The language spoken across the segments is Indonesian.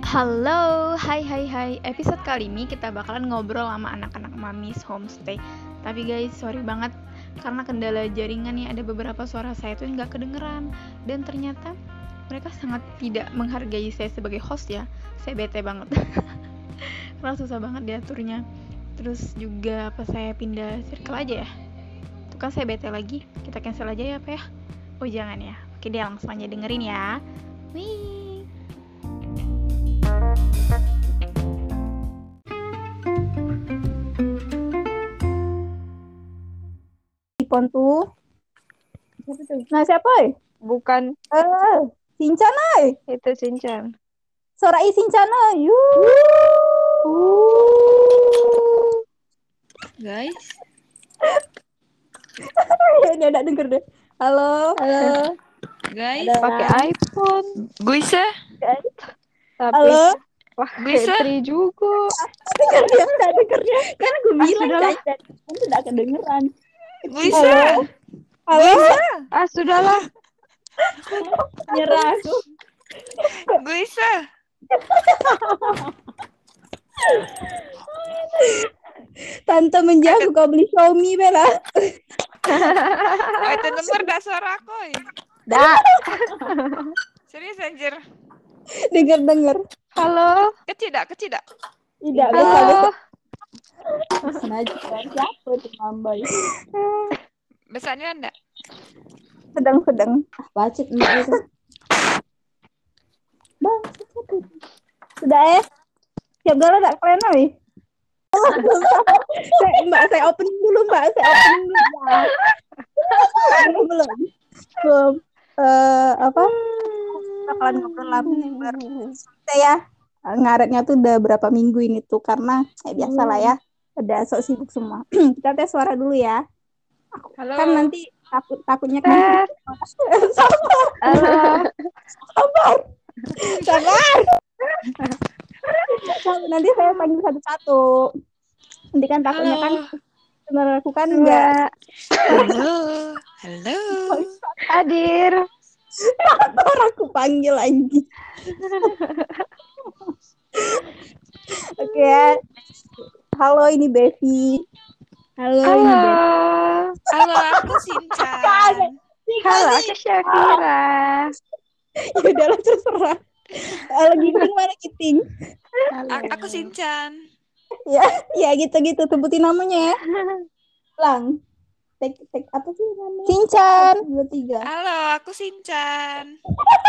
Halo, hai. Episode kali ini kita bakalan ngobrol sama anak-anak Mamis Homestay. Tapi guys, sorry banget karena kendala jaringan nih, ada beberapa suara saya tuh nggak kedengeran. Dan ternyata mereka sangat tidak menghargai saya sebagai host ya. Saya bete banget karena susah banget diaturnya. Terus juga apa saya pindah circle aja ya? Tuh kan saya bete lagi. Kita cancel aja ya apa ya? Oh jangan ya. Oke deh, langsung aja dengerin ya. Wih. Ipon tuh. Siapa tuh? Nah, siapa? Bukan, Shinchan, itu Shinchan. Sorai Shinchan, Guys, Dia enggak denger deh. Halo. guys, Pakai iPhone. Guisa. Tapi Halo. pakai Bisa? Tri juga. Enggak denger dia. Kan gue bilang sudahlah. kan enggak kedengeran. Guisa. Halo. Sudahlah. Nyerah aku. Guisa. Tante menjauh kau beli Xiaomi Bella. Oh, itu denger dah suara aku. Dah. Serius anjir. Denger. Halo. Kecil dak. Tidak Halo. Sengaja siapa itu Mambai. Besarnya enggak? Sedang. Bacot mbak itu. Bang, sudah siap galau tak kalian oi? Mbak, saya opening dulu mbak. Belum. Apa? Bakalan ngobrol lama saya ngaretnya tuh udah berapa minggu ini tuh karena biasa lah ya. Udah sok sibuk semua. Kita tes suara dulu ya. Halo. Kan nanti takutnya kan. Sabar. Nanti saya panggil satu-satu. Nanti kan takutnya kan sebenarnya aku kan enggak. Halo. Hadir. Aku panggil lagi. Oke ya. Halo, ini Bevi. Halo, aku Shinchan. Halo, aku Syafira. Ya udahlah terserah. Giting mana Giting? Aku Shinchan. Ya gitu sebutin namanya ya. Lang. Tek apa sih namanya? Shinchan. 2 3. Halo, aku Shinchan.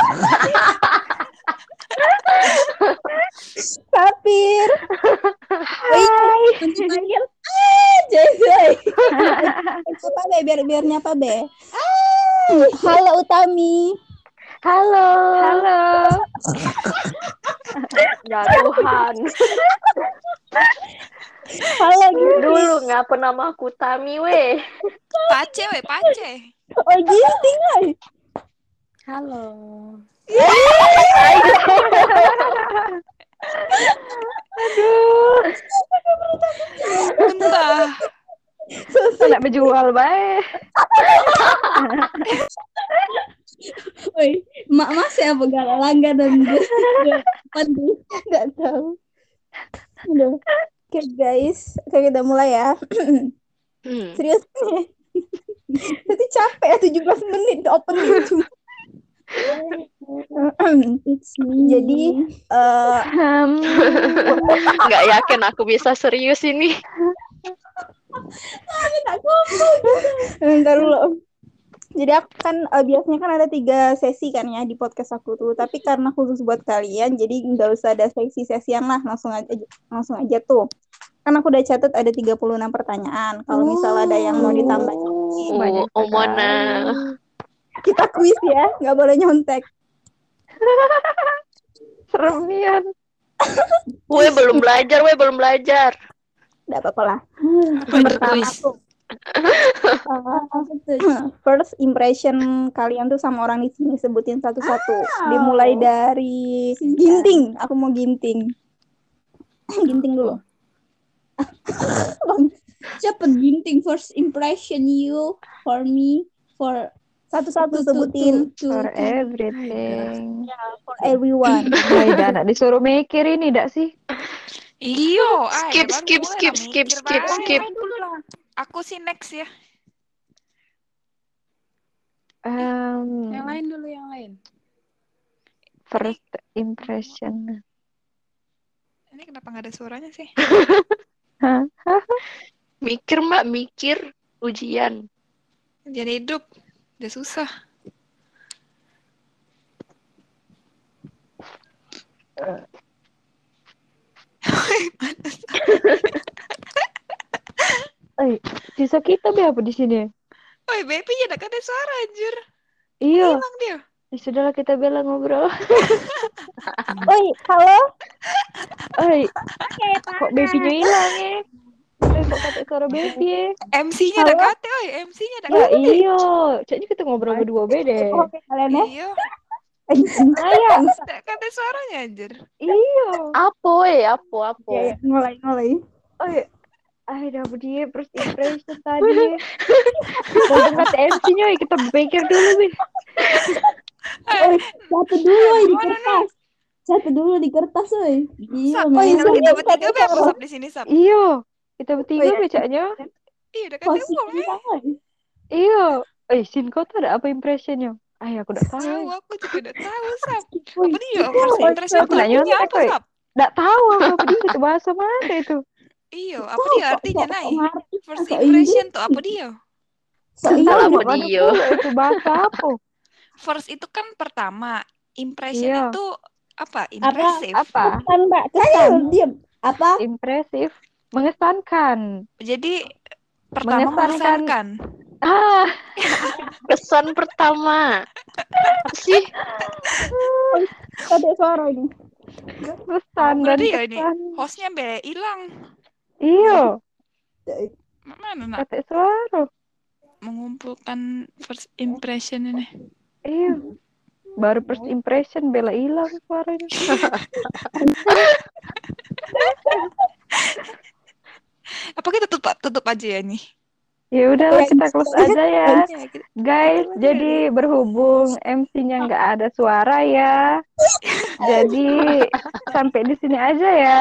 Sapir. Hai. Panggil. Jay. Apa be? Biar nyapa be. Halo Utami. Halo. Ya Tuhan. Halo Giting. Dulu ngapa namaku Tami weh. Pace. Oh Giting. Halo. Aduh. Entah. Nak berjual baik. Woi, mak masih apa gak langganan pandu nggak tahu. Udah. Oke guys, kita mulai ya. Serius nih. Nanti capek ya 17 menit opening cuma. Jadi nggak yakin aku bisa serius ini. Bentar dulu. Jadi aku kan biasanya kan ada 3 sesi kan ya di podcast aku tuh. Tapi karena khusus buat kalian, jadi nggak usah ada sesi-sesian lah, langsung aja tuh. Kan aku udah catat ada 36 pertanyaan. Kalau misalnya ada yang mau ditambah, Mana? kita kuis ya, nggak boleh nyontek. Seremian. Gue belum belajar. Nggak apa-apa lah. Pertama tuh. First impression kalian tuh sama orang di sini, sebutin satu-satu. Dimulai dari Ginting. Aku mau Ginting. Ginting dulu. Cepet Ginting. First impression you for me, for Satu-satu sebutin. For everything. For everyone. Hai, anak disuruh mikir ini dak sih? Iyo, Skip, baru skip, mulai skip, lah skip, mikir, skip, Bang. skip. Aku sih next ya. Yang lain dulu, yang lain. First impression. Ini kenapa nggak ada suaranya sih? Hah? Mikir, Mbak, mikir. Ujian. Jadi hidup udah susah. Sisa kita be apa di sini? Woi, baby ya ada suara anjir. Iya. Hilang dia. Ya sudahlah kita bela ngobrol. Oi, halo. Oi, kok babynya hilang ya? Kok kata suara baby ya? MC-nya ada kate, oi. MC-nya ada Ya kate. iyo, kayaknya kita ngobrol berdua beda. Oke, kalian ya. Iya, Ayah, ada kate suaranya anjir. iyo. Apa, apa? Ya, mulai. Oi, udah dia first impression tadi. Kalau kata MC-nya kita pikir dulu nih. Oi, satu dulu di kertas, oi. Iya, Sap, main. kita bertiga be apa Sap di sini, Sap? Iyo, kita bertiga Oh, iya. becaknya. Iya, udah kate uang ya. Iyo, Sin kau tuh ada apa impressionnya? Aku udah tahu. Tahu, aku juga udah tahu, Sap. Oi, Apa dia? First impression Aku tuh nanya artinya nyontek, apa, oi. Sap? Nggak tahu apa dia itu bahasa mana itu. Iya, apa dia artinya, Nay? First Kok impression tuh apa dia? Salah apa Mana dia? pula itu bahasa apa? First itu kan pertama. Impression Iya. itu apa? Impressive. Apa? Kesan, Mbak. Kesan. Diam. Apa? Impresif, mengesankan. Jadi pertama Mengesankan. mengesankan. Kesan pertama. Apa sih? Ada suara ini. Pesan dan Berarti ya ini kesan. hostnya be hilang. Iyo, Mana nak kata suara. mengumpulkan first impression ini? Iyo. Baru first impression bela hilang suaranya. Apa kita tutup aja ya nih? Ya udahlah kita close aja ya. Ya, kita- Guys, jadi berhubung MC-nya nggak ada suara ya. Jadi sampai di sini aja ya.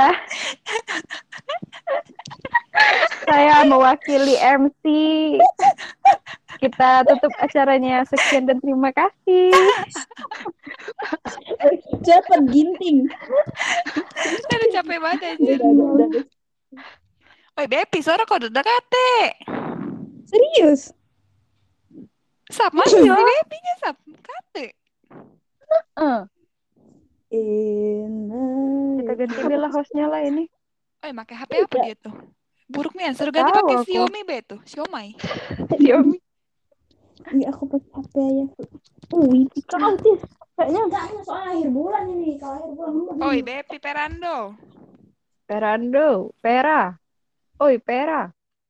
Saya mewakili MC. Kita tutup acaranya. Sekian dan terima kasih. Cepet ginting. Udah capek banget anjir. Woi, Bepi, suara kau udah kate. Serius? Sap, mana si Bepinya, Sap? Kate. Kita ganti bela hostnya lah ini. Woi, pakai HP apa dia tuh? Buruk nih, suruh ganti Tahu pakai aku. Xiaomi be tuh, Xiaomi. Xiaomi. Iya, aku pakai HP aja. Wih, kau sih. Kayaknya enggaknya soal akhir bulan ini. Kalau akhir bulan. Oi, Bepi Perando. Perando, Pera. Oi, Pera.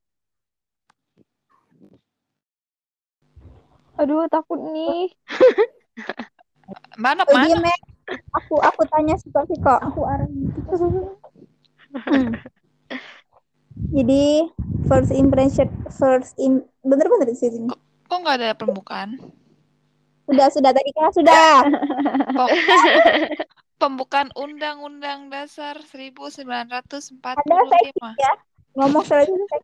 Aduh, takut nih. Mana? Diam ya. Aku tanya situasi kok. Aku arah. Jadi bener-bener di sini. Kok nggak ada pembukaan? Sudah tadi kan sudah. Pembukaan Undang-Undang Dasar 1945. Ya, ngomong selesai.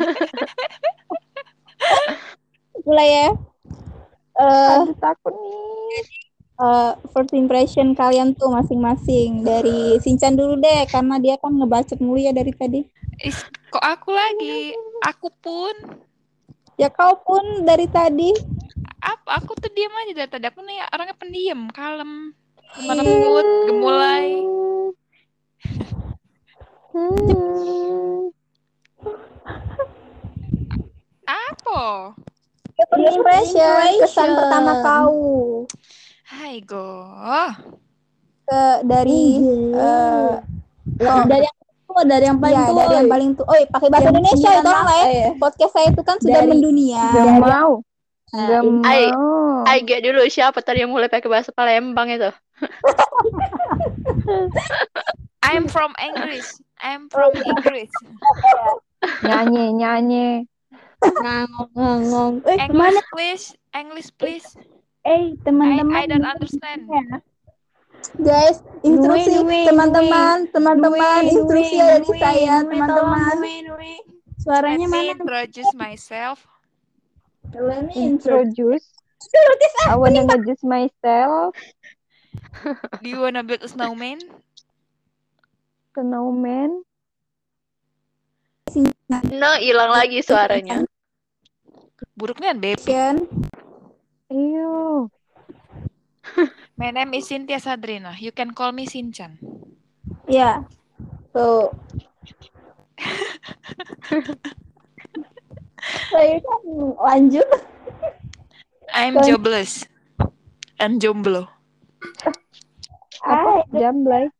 Mulai ya. Aduh, takut nih. First impression kalian tuh masing-masing. Dari Sinchan dulu deh, karena dia kan ngebacot mulu ya dari tadi. Kok aku lagi? Aku pun. Ya kau pun dari tadi. Aku tuh diam aja dari tadi. Aku nih orangnya pendiam, kalem, lemah lembut, gemulai. Apa? First impression, kesan pertama kau Hai go. dari dari yang paling tua. Dari yang paling tua. Oi, pakai bahasa Indonesia tolong lah ya. Podcast saya itu kan sudah mendunia. Gak mau. Gak Ai- mau. Aige dulu, siapa tadi yang mulai pakai bahasa Palembang itu? I'm from English. I'm from English. Nyanyi. ngangong. Mana? English please. I Teman-teman. don't understand. Guys, instruksi Nui, teman-teman, instruksi ada di saya, Nui, teman-teman. Suaranya Let me mana? introduce myself. Let me introduce. Introduce. I wanna introduce myself. Do you wanna build a snowman? Snowman. No, hilang lagi suaranya. Buruknya baby. Ew. My name is Cynthia Sadrina. You can call me Sinchan. Ya. So saya kan lanjut. I'm jobless and jomblo. Apa? Jamblay.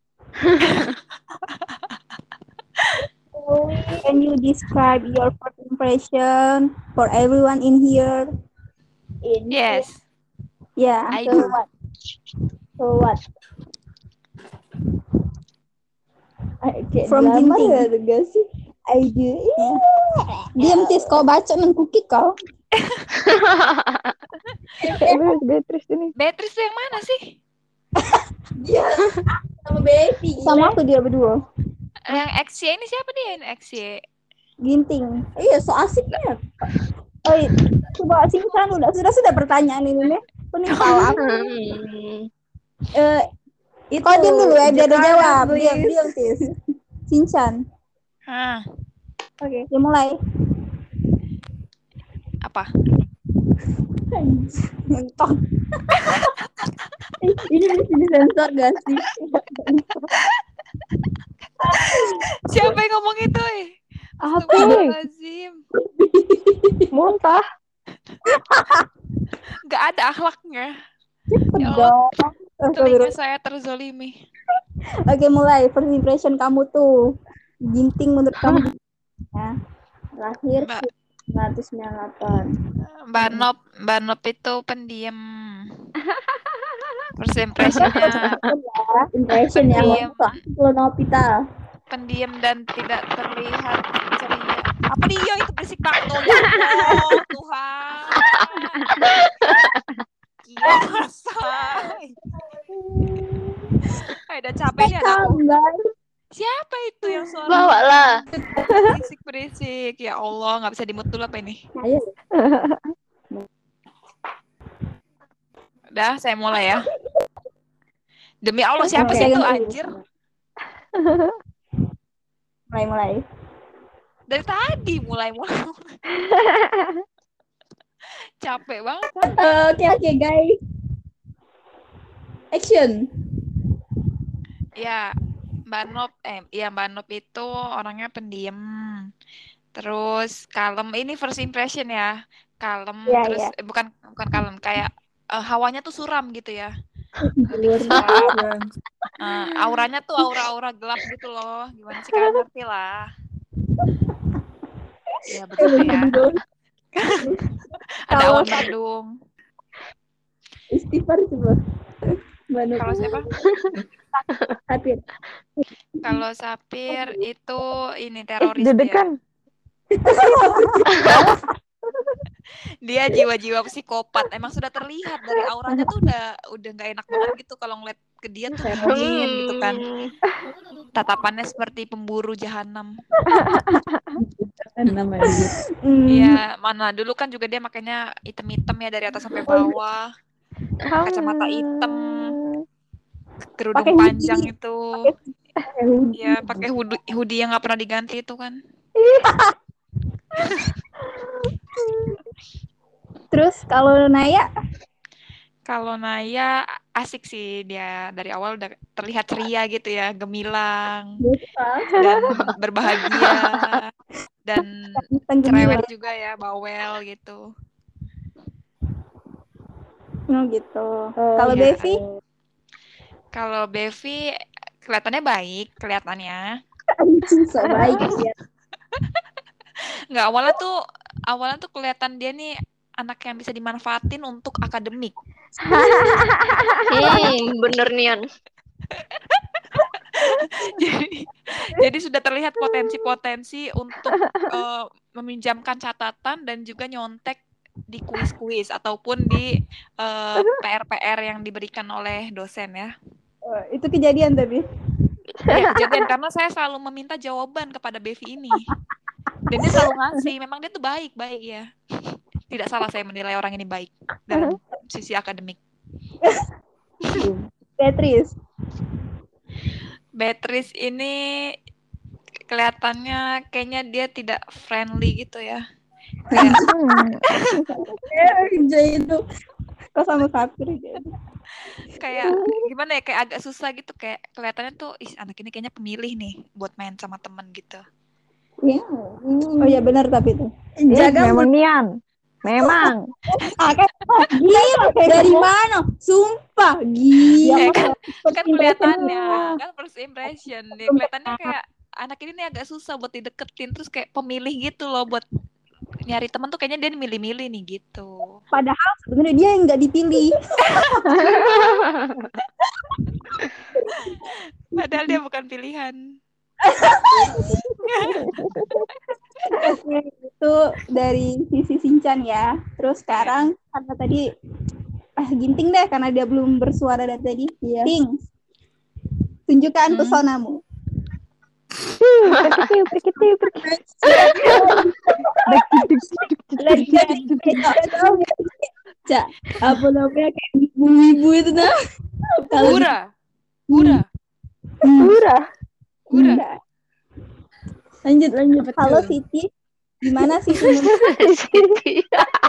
Can you describe your first impression for everyone in here? Yes, Yeah. I So do. what? From Ginting. I do. Diam Tis, kau baca mengkuki kau. Beatrice ini. Beatrice tuh yang mana sih? Sama baby. Sama aku dia berdua. Yang XY ini siapa dia? Yang XY. Ginting. Iya, so asiknya. Oh, coba singkat sudah pertanyaan ini nih. Aku nih tahu aku. Itu. Kau diam dulu ya, biar dia jawab. Diam Tis. Sinchan. Hah, Oke, ya mulai. apa? Mentok. Ini mesti disensor gak sih? Siapa yang ngomong itu? Apa? Astagfirullahaladzim. Muntah. Gak ada akhlaknya. Ya Pedang. Allah, telinga saya terzolimi. Oke, mulai. First impression kamu tuh. Ginting menurut kamu. Ya. Lahir Mbak. 1998. Mbak Nop itu pendiam. First impression-nya Impression ya. Pendiam. Kalau Novita. pendiam dan tidak terlihat ceria. Apa dia itu berisik banget tuh? Ya Allah, Tuhan. Gila, say. Udah capek nih aku. Siapa itu yang suara Bawa lah. berisik? Ya Allah, nggak bisa di-mute dulu apa ini? Ayo. Udah, saya mulai ya. Demi Allah, siapa Oke. sih itu anjir? Mulai. Dari tadi mulai. Capek banget. Oke, guys. Action. Ya, Mbak Nop itu orangnya pendiam. Terus kalem. Ini first impression ya. Kalem, Iya, terus iya. bukan kalem, kayak hawanya tuh suram gitu ya. Auranya tuh aura gelap gitu loh. Gimana sih, kalian ngerti lah. Ya betul ya. Ada awan mendung. Istighfar coba. Kalau siapa? Sapir. Kalau Sapir itu ini teroris Dedekan. Dia jiwa-jiwa psikopat. Emang sudah terlihat dari auranya tuh udah nggak enak banget gitu kalau ngeliat ke dia tuh dingin gitu kan. Tatapannya seperti pemburu jahanam. Iya, mana dulu kan juga dia makanya hitam-hitam ya dari atas sampai bawah. Kacamata hitam, kerudung Pakai panjang hoodie. itu. Iya, pakai hoodie yang nggak pernah diganti itu kan. Terus kalau Naya? Kalau Naya asik sih, dia dari awal udah terlihat ceria gitu ya, gemilang dan berbahagia dan cerewet juga ya, bawel gitu. Gitu. Kalau Iya. Bevi? Kalau Bevi kelihatannya baik, kelihatannya. So baik ya. Nggak, awalnya tuh kelihatan dia nih anak yang bisa dimanfaatin untuk akademik. Bener Nian. jadi sudah terlihat potensi-potensi untuk meminjamkan catatan dan juga nyontek di kuis-kuis ataupun di PR-PR yang diberikan oleh dosen ya. Itu kejadian tapi. Iya, kejadian karena saya selalu meminta jawaban kepada Bevi ini. Dan dia selalu ngasih. Memang dia tuh baik-baik ya. Tidak salah saya menilai orang ini baik dalam sisi akademik. Beatrice ini kelihatannya kayaknya dia tidak friendly gitu ya. Jadi itu kok sama Sapir gitu. Kayak gimana ya, kayak agak susah gitu, kayak kelihatannya tuh anak ini kayaknya pemilih nih buat main sama temen gitu. Iya. Oh ya benar tapi itu. Jaga memang Nian. Memang. Gila dari mana? Sumpah gila. Kan kelihatannya kan first impression. Dia kelihatannya kayak anak ini nih agak susah buat dideketin, terus kayak pemilih gitu loh, buat nyari teman tuh kayaknya dia milih-milih nih gitu. Padahal sebenarnya dia yang nggak dipilih. Padahal dia bukan pilihan. Oke, itu dari sisi Sinchan ya. Terus sekarang karena tadi Ginting deh karena dia belum bersuara dari tadi. Iya. Ting, tunjukkan pesonamu. Cak, apa namanya kayak ibu-ibu itu nah? Gura. Lanjut. Halo Siti, gimana sih? Siti.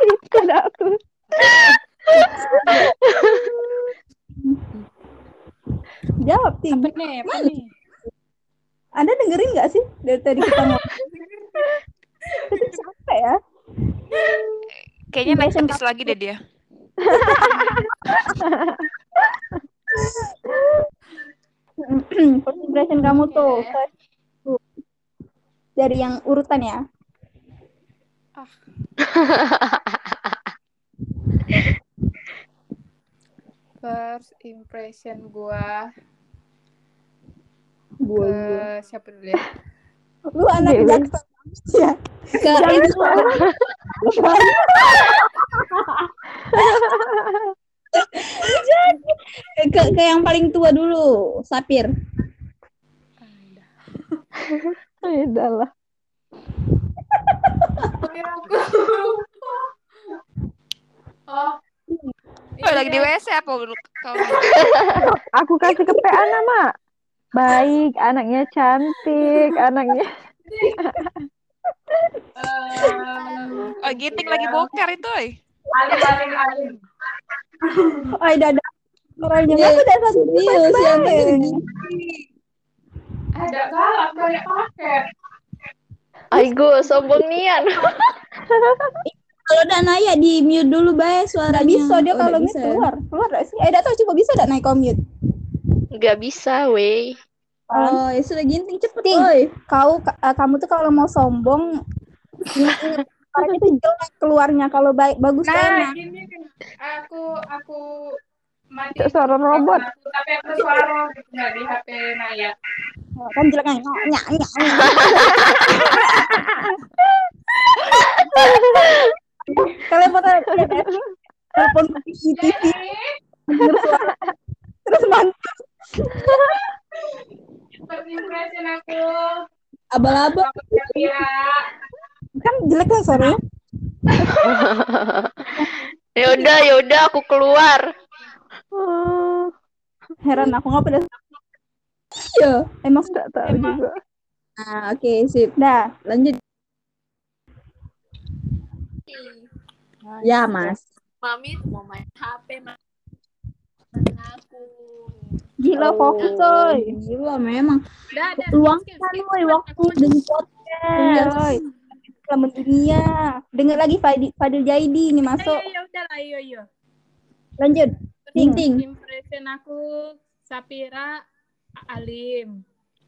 Jawab Ting. Apa nih? Anda dengerin nggak sih dari tadi kita ngomong? Tapi capek ya. Kayaknya naik habis lagi deh dia. First impression kamu tuh dari yang urutan ya. First impression gua siapa dulu ya? Lu anak jaksa ya. Ke yang paling tua dulu, Sapir. Udahlah. Lagi di WC apa kau? Aku kasih ke PA nama. Baik, anaknya cantik, anaknya. Ginting lagi boker itu, Alim. Oh, dadah. Orangnya aku udah satu serius ya. Ada galak banyak paket. Aigo, sombong Nian. Kalau udah Naya di mute dulu bae suaranya. Nggak bisa dia kalau mute keluar nggak sih? Datang coba bisa nggak naik mute? Nggak bisa, wey. Oh, ya sudah Ginting cepet, Ting. Kamu tuh kalau mau sombong, karena itu jelek keluarnya. Kalau bagus Nah, enak. gini aku mati Suara robot. tapi aku suara gitu nggak di HP Naya. Kan jelek nyak. Kalian telepon TV, terus mantap. First impression aku Abal-abal. Kan jelek kan suaranya. Yaudah, aku keluar. Heran aku nggak pada. Iya, emang Nggak tahu juga. Nah, oke, sip. Dah, lanjut. Ya, Mas. Mami mau main HP, aku. Gila fokus, coy. Gila memang. Luangkan waktu dengan podcast. Selamat dunia. Dengar lagi Fadil Jaidi ini masuk. Ya udahlah, ayo. Lanjut. Ting. Impression aku Sapira alim.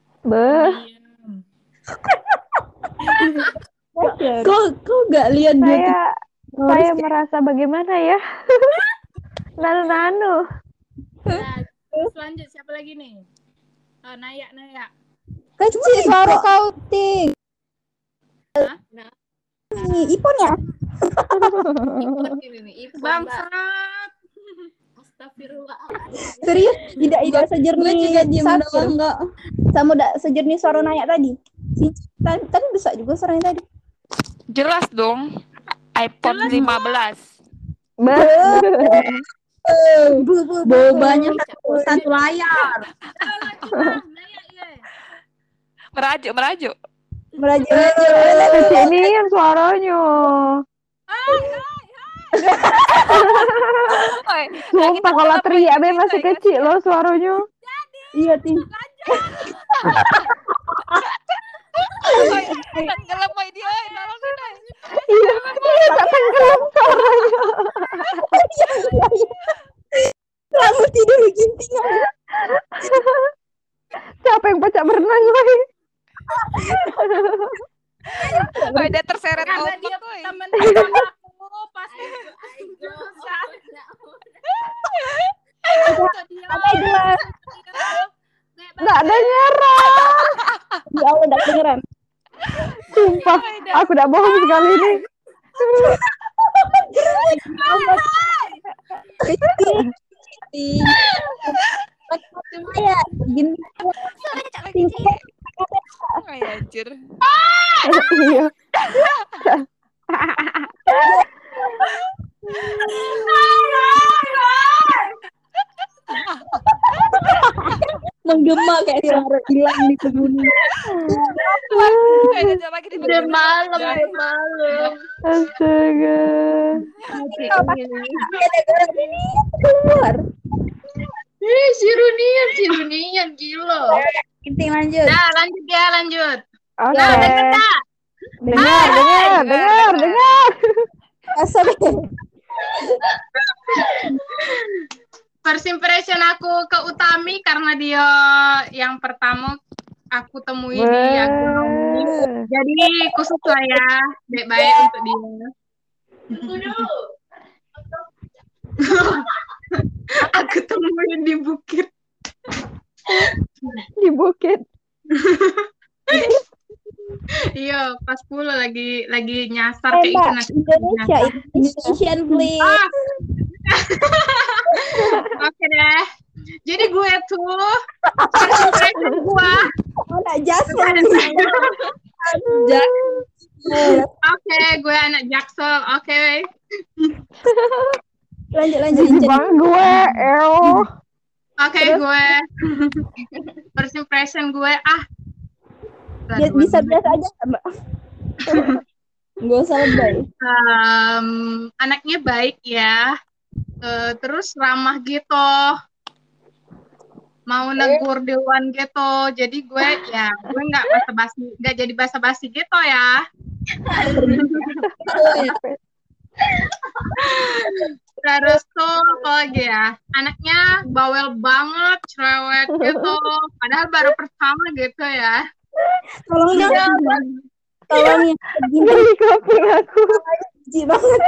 Kok gak lihat saya merasa bagaimana ya? Nanu. Nah, terus lanjut siapa lagi nih? Naya. Kecil suara kau, Ting. Nah, Ipon ya? Ipon ini nih, Ipon. Bangsat. Astagfirullahaladzim. Serius? Tidak sejernih. Gue juga diem Sapir. doang kok. Sama udah sejernih suara Naya tadi. Tadi besar juga suaranya tadi. Jelas dong. iPhone 15. Bobanya satu layar. Merajuk. Merajuk. Ini yang suaranya. Sumpah kalau teriak be masih kecil loh suaranya. Iya, Ting. Tenggelam boy dia, nolong kita. Iya, tak tenggelam suaranya. Kamu tidur ginting. Siapa yang pecah berenang boy? Boy dia terseret Karena ombak dia boy. temen-temen aku pas Nggak ada nyerah. Ya Allah, udah kedengeran. Sumpah, aku tidak bohong sekali ini. Ya, gini. Ay, anjir. Iya. Menggema kayak suara hilang di kebun. Udah malam. Astaga. Keluar. Si Runian gila. Ginting lanjut. Nah, lanjut. Oke. Nah, Dengar. Asal. First impression aku ke Utami karena dia yang pertama aku temui di agronomi. Jadi khusus lah ya, baik-baik untuk dia. Aku temuin di bukit. Di bukit. Iya, pas pula lagi nyasar kayak itu nasi. Indonesian please. Oke deh. Jadi gue tuh first impression gue. Anak Jaksel. Oke, gue anak Jaksel. Oke. Lanjut. Bang gue, Oke, gue first impression gue Ya, bisa biasa aja, Mbak. Nggak usah lebay. Anaknya baik ya. Terus ramah gitu. Mau negur duluan gitu. Jadi gue nggak jadi basa-basi gitu ya. Terus tuh apa lagi ya? Anaknya bawel banget, cerewet gitu. Padahal baru pertama gitu ya. Tolong ya. Tolong ya. dari kampung aku. Jijik banget.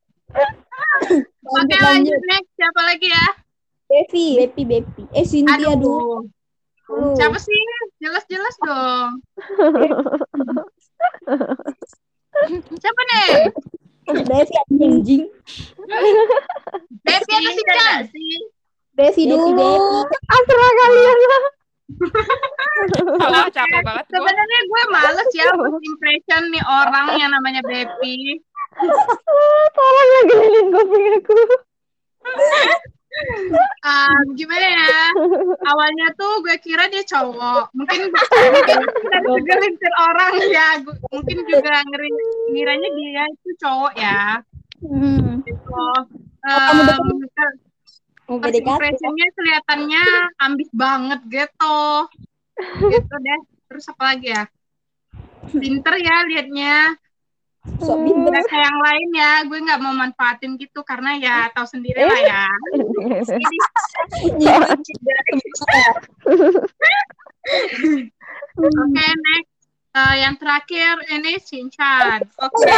Oke, lanjut next. Siapa lagi ya? Bepi. Cynthia dulu. Siapa sih? Jelas dong. Siapa nih? Bepi anjing. Bepi atau Sinca? Bepi dulu. Asra kalian lah. Capek banget gue. Sebenarnya gue males ya first impression nih orang yang namanya Bepi. Tolong ya gelinin kuping aku. Gimana ya? Awalnya tuh gue kira dia cowok. Mungkin kita segelintir orang ya. Mungkin juga ngiranya dia itu cowok ya. Gitu. First impressionnya kelihatannya ambis banget gitu. Gitu deh. Terus apa lagi ya? Pinter ya liatnya. Nggak kayak yang lain ya, gue nggak mau manfaatin gitu karena ya tahu sendiri lah ya. Oke, next. Yang terakhir ini Shinchan. Oke.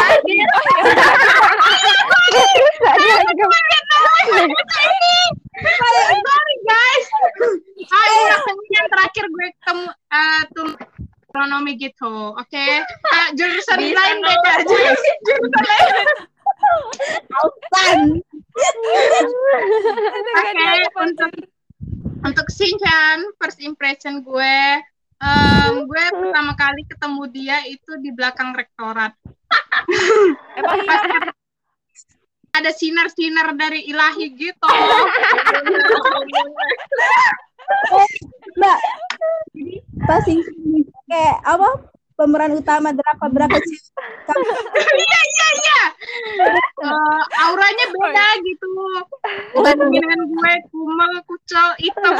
Sorry guys. Yang terakhir gue kami gitu. Oke. Jurusan lain beda. Jurusan lain. Ausan. Oke, untuk Shinchan, first impression gue pertama kali ketemu dia itu di belakang rektorat. Emang iya? Ada sinar-sinar dari ilahi gitu. Mbak, pas kayak apa? Pemeran utama berapa sih? Iya. Auranya beda gitu. Bandingan gue kumel, kucel, hitam.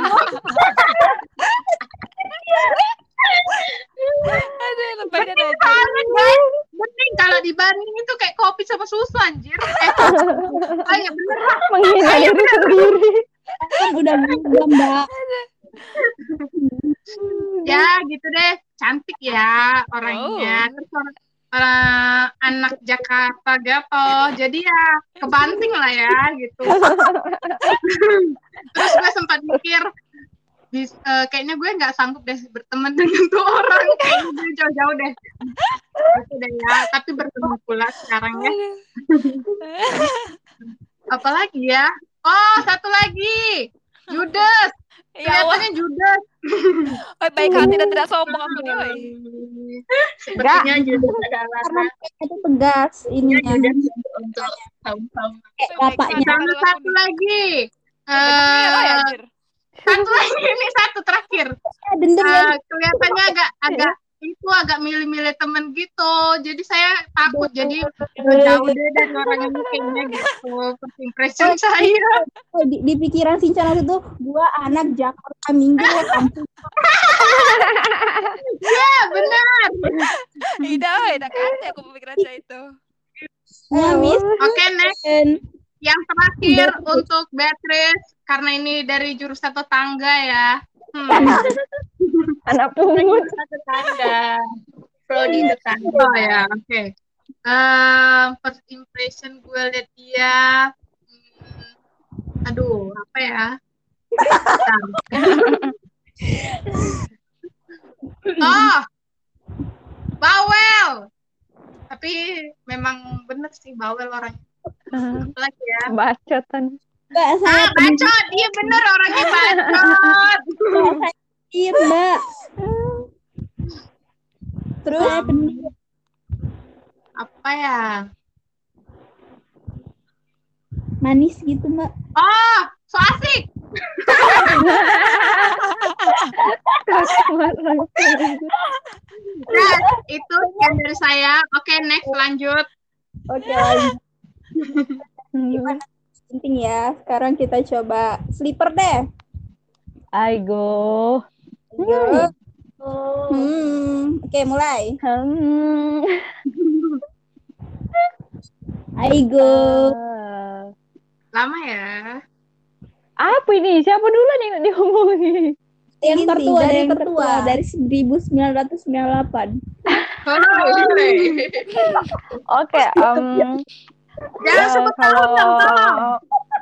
Aduh, lebaynya aja. Banget, guys. Bening kalau dibanding itu kayak kopi sama susu anjir. Ayo bener lah. Menghina diri sendiri. Kan udah berubah, Mbak. Ya gitu deh, cantik ya orangnya. Terus anak Jakarta gitu, jadi ya kebanting lah ya gitu. Terus gue sempat mikir, kayaknya gue nggak sanggup deh berteman dengan tuh orang, kayaknya gue jauh-jauh deh. Gitu deh ya, tapi bertemu pula sekarang ya. Apalagi ya? Oh, satu lagi, Judas. Ya Allah. Kelihatannya Judas. Oh, baik hati dan tidak sombong aku nih, woy. Sepertinya Judas adalah Karena itu tegas ininya. untuk kaum-kaum. Bapaknya. Sama satu lagi. Merah ya, anjir. Satu lagi, ini satu terakhir. Dendam ya. Kelihatannya agak milih-milih temen gitu. Jadi saya takut. Jadi jauh deh dari orang ini kayaknya gitu. First impression saya. Oh, di pikiran Shinchan waktu itu, gua anak Jakarta Minggu ya kampung. Ya, benar. Tidak kata aku pemikiran saya itu. Miss. Oke, next. Yang terakhir untuk Beatrice, karena ini dari jurusan tetangga ya. Anak pungut. Tetangga. Prodi tetangga. Oh ya, oke. First impression gue lihat dia, aduh, apa ya? Oh, bawel. Tapi memang bener sih bawel orang. Lagi ya. Bacotan. Mbak, saya Bacot. Iya bener orangnya bacot. pendiam, Mbak. Terus Apa ya? manis gitu, Mbak. Oh, so asik. Nah, itu yang dari saya. Oke, next lanjut. Oke, lanjut. Penting ya. Sekarang kita coba sleeper deh. Aigo. Oke, mulai. Ah. Aigo. Lama ya. Apa ini? Siapa dulu yang diomongin? Yang tertua, dari yang tertua dari 1998. Oke, Jangan sebut tahun dong, tolong.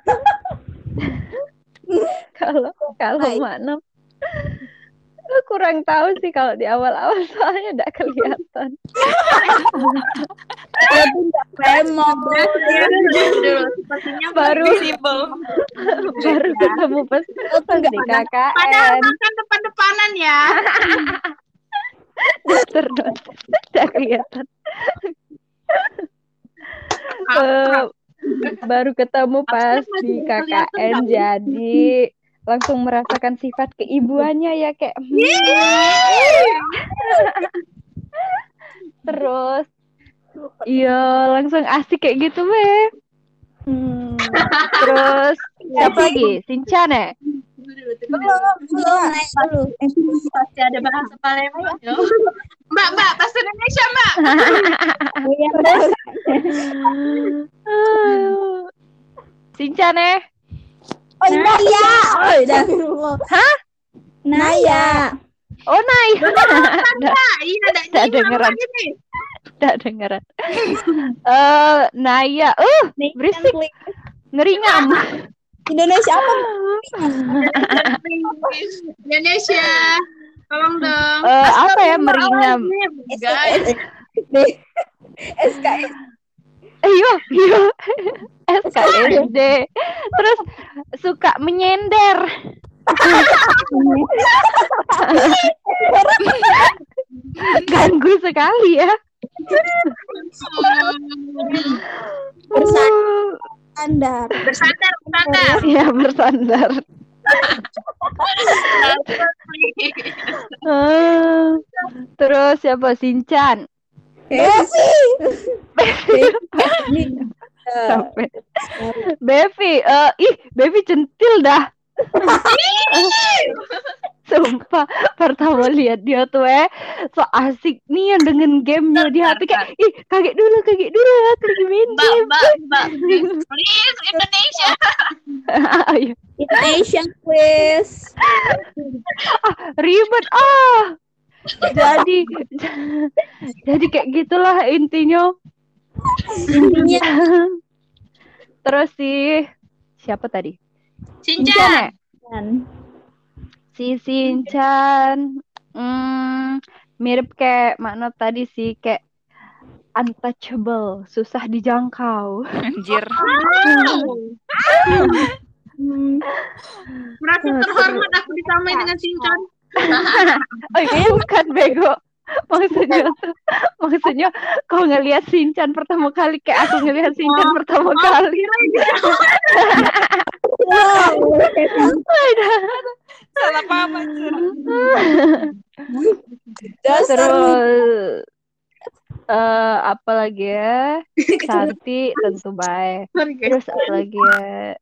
kalau makna kurang tahu sih kalau di awal-awal soalnya tidak kelihatan. Baru visible. Baru ketemu pas di KKN. Padahal makan depan-depanan ya. Terus tidak kelihatan. Baru ketemu pas di KKN, jadi langsung merasakan sifat keibuannya ya kayak terus iya langsung asik kayak gitu weh. Terus siapa lagi? Shinchan ya? Belum. Pasti ada bahasa Palembang. Mbak, bahasa Indonesia, Mbak. Shinchan ya? Oh, Naya. Oh, udah. Hah? Naya. Oh, Naya. Iya, Tidak dengeran. Tidak dengeran. Naya. Berisik. Ngeringan. Indonesia apa? Indonesia. Tolong dong. Apa ya, meringam. Guys. SKS. Iya. SKSD. Terus suka menyender. Ganggu sekali ya. Bersandar. Bersandar. Ya, bersandar. Terus siapa? Sinchan. Sampai Bevi centil dah. Sumpah, pertama lihat dia tuh so asik nih yang dengan gamenya di HP kayak kaget dulu aku lagi main game. Mbak, please Indonesia. Ayo. Indonesian quiz. Ribet jadi kayak gitulah intinya. Terus siapa tadi? Sinchan. Si Sinchan mirip kayak makna tadi sih, kayak untouchable, susah dijangkau. Anjir. Merasa terhormat aku disamain dengan Sinchan. Bukan bego. Maksudnya kau ngelihat Sinchan pertama kali kayak aku ngelihat Sinchan pertama kali. Salah paham anjir. Terus apa lagi ya? Santi tentu baik. Terus apa lagi ya?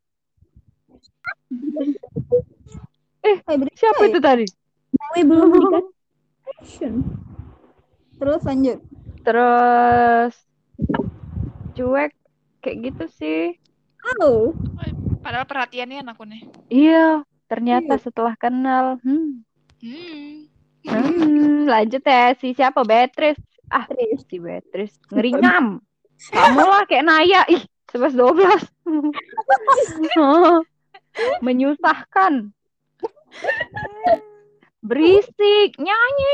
Siapa itu tadi? Belum dikasih. Terus lanjut. Terus cuek kayak gitu sih. Padahal perhatiannya aku nih. Iya, ternyata setelah kenal. Lanjut ya, si siapa? Beatrice. Si Beatrice ngerinyam. Kamu lah kayak Naya. 11-12. Menyusahkan. Berisik. Nyanyi.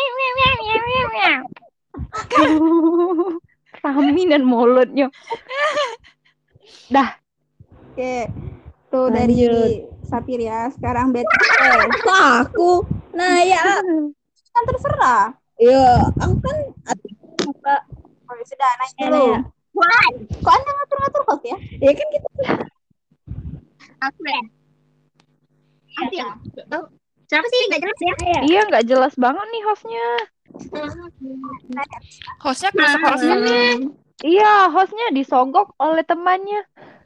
Kaminan mulutnya. Dah. Oke. Tuh dari Sapir ya. Sekarang Beatrice. Aku Naya. Kan terserah. Iya, aku kan sudah nanya dulu. Kok Anda ngatur-ngatur host ya? Ya kan gitu. Aku ya. Siapa sih nggak jelas ya? Iya, nggak jelas banget nih hostnya. Hostnya kerasa hostnya nih. Iya, hostnya disogok oleh temannya.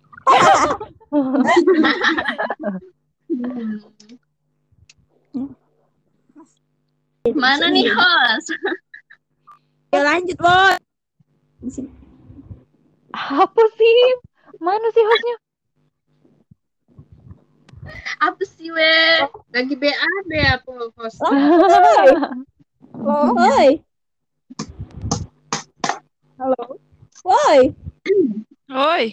Mana nih host? Ya lanjut, Bos. Apa sih? Mana sih hostnya? Apa sih we? Lagi BAB apa host? Woi. Halo. Woi. Oi.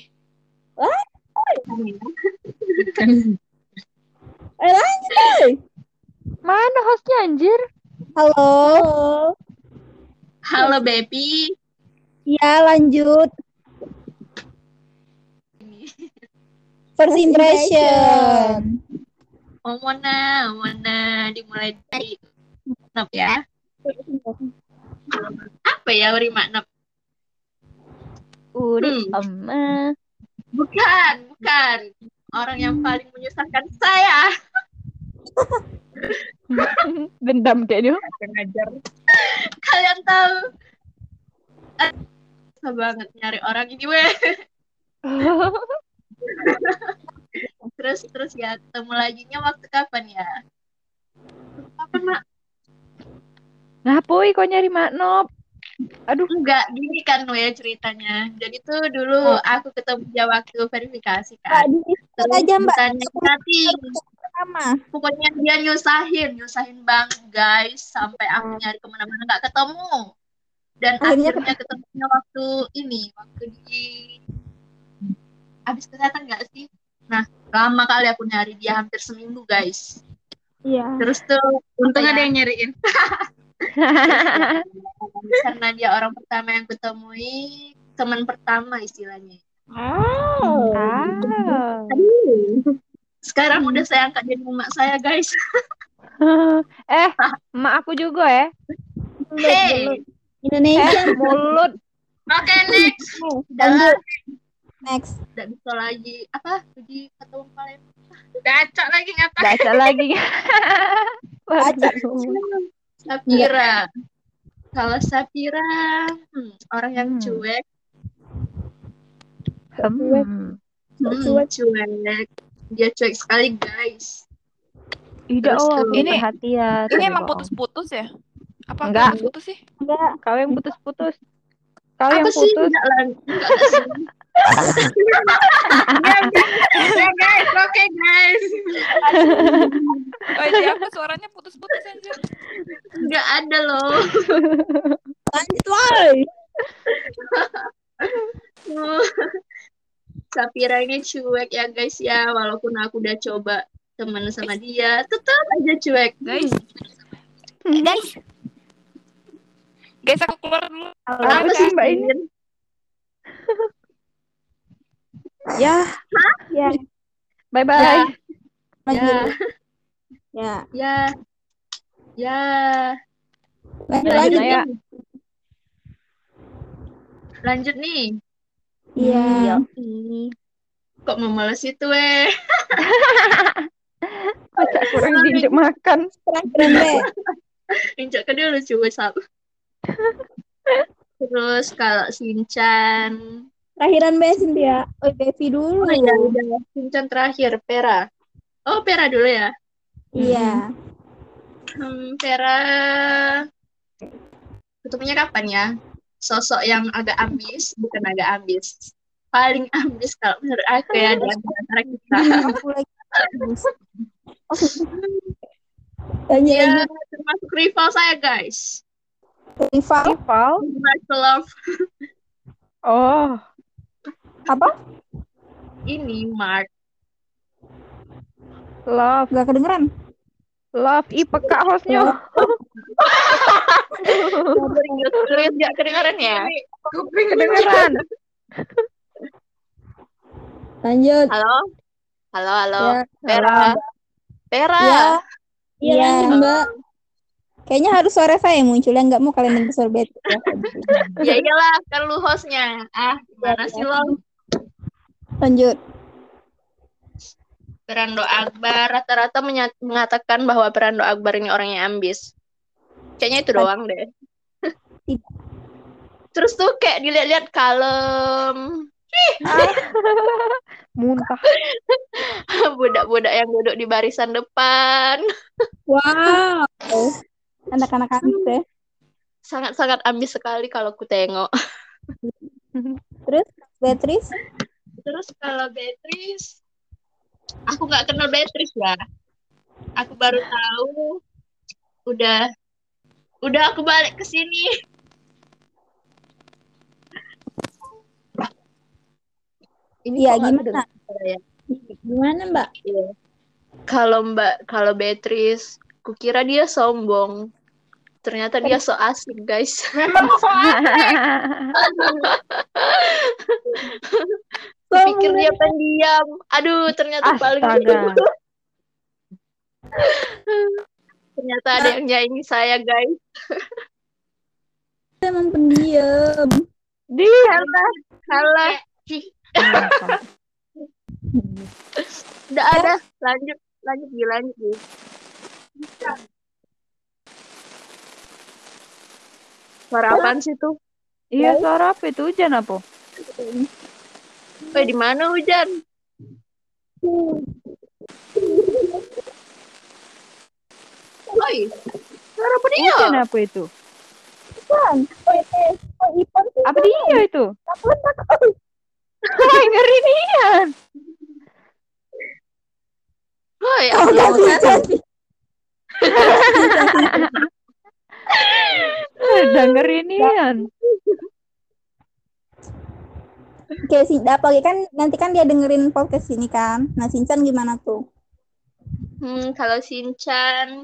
Lanjut, woi. Mana hostnya anjir? Halo. Halo baby. Ya, lanjut. First impression. Mona, dimulai dari Nop ya. Apa ya Uri Maknop? Uri Oma. Bukan. Orang yang paling menyusahkan saya. Dendam kayaknya. Kalian tahu? Susah banget nyari orang ini weh. Terus ya ketemu laginya waktu kapan ya? Kapan Mak? Ngapoi kok nyari Maknop? Aduh, Enggak, gini kan weh ceritanya. Jadi tuh dulu aku ketemu dia waktu verifikasi kan. Terus aja, Mbak. bukannya chatting. Pertama. Pokoknya dia nyusahin banget guys. Sampai aku nyari kemana-mana nggak ketemu. Dan akhirnya ketemunya waktu di habis kesehatan nggak sih? Nah, lama kali aku nyari dia, hampir seminggu guys. Iya. Terus tuh untung ada yang nyariin. Karena dia orang pertama yang kutemui, teman pertama istilahnya. Oh. Aduh. Sekarang udah saya angkat jadi emak saya, guys. Emak aku juga ya. Hey. Indonesia. Mulut. Oke, next. Lanjut. Next. Tidak bisa lagi. Apa? Uji ketua kalian. Gacok lagi ngatain. Baca lagi. Sapira. Kalau Sapira, orang yang cuek. Cuek. Dia cuek sekali, guys. Tidak, Terus aku ini- perhatian. Ini emang putus-putus ya? Apa Enggak. putus sih? Enggak. Kau yang putus-putus. Kau Apa yang sih? putus. Enggak lah. Ya, guys. Oke, guys. Oh, di aku suaranya putus-putus anjir. Enggak ada loh. Lanjut, woy. Sapira ini cuek ya, guys ya. Walaupun aku udah coba temen sama dia, tetap aja cuek. Guys. Guys, aku keluar dulu. Apa sih Mbak ini? Ya. Ya. Bye-bye. Lanjut. Ya. Ya. Lanjut. Ya. Lanjut nih. Iya. Kok mau males itu, weh? Kocak kurang diinjek makan. Keren deh. Injak ke dulu coba satu. Terus kalau Shinchan, Terakhiran Be, Cynthia. Oh, Devi dulu. oh ya udah Shinchan terakhir, Pera. Oh, Pera dulu ya. Iya. Pera ketemunya kapan ya? Sosok yang agak ambis, bukan agak ambis. Paling ambis kalau menurut aku ya di antara kita. Aku lagi. Lanjut, Dia lanjut. termasuk rival saya, guys. Rival. Rival. Mark Love. Oh. Apa? Ini Mark. Love. Gak kedengeran. Love. Ih, peka hostnya. Lihat gak kedengaran ya? Kedengeran. Lanjut. Halo? Halo. Ya. Pera. Pera. Ya. Iya, Iya. lanjut, Mbak. Kayaknya harus suara saya yang muncul, ya nggak mau kalian dengar suara Betty. Ya iyalah, kan lu hostnya. Gimana sih lo? Lanjut. Perando Akbar rata-rata mengatakan bahwa Perando Akbar ini orangnya ambis. Kayaknya itu doang deh. Terus tuh kayak dilihat-lihat kalem. Muntah. Budak-budak yang duduk di barisan depan. Wow. Anak-anak ambis ya. Sangat-sangat ambis sekali kalau ku tengok. Terus Beatrice. Terus kalau Beatrice, aku nggak kenal Beatrice ya. Aku baru tahu. Udah aku balik ke sini. Ini Iya, kok nggak gimana? kedengeran suara ya? Gimana, Mbak? Iya. Kalau Beatrice, kukira dia sombong. Ternyata dia so asik, guys. Kupikir dia pendiam. Aduh, ternyata paling Astaga. ternyata ada yang nyanyi saya, guys. Emang pendiam. Kalah. Udah ada. Lanjut Gi. Suara apaan sih tuh? Iya, suara apa itu? Hujan apa? Di mana hujan? Oi, suara apa dia? Hujan apa itu? Ipan sih. Apa dia itu? Wah, ngeri nian. Oi, Udah ngeri nian. Oke, apalagi kan nanti kan dia dengerin podcast ini kan. Nah, Shinchan gimana tuh? Kalau Shinchan,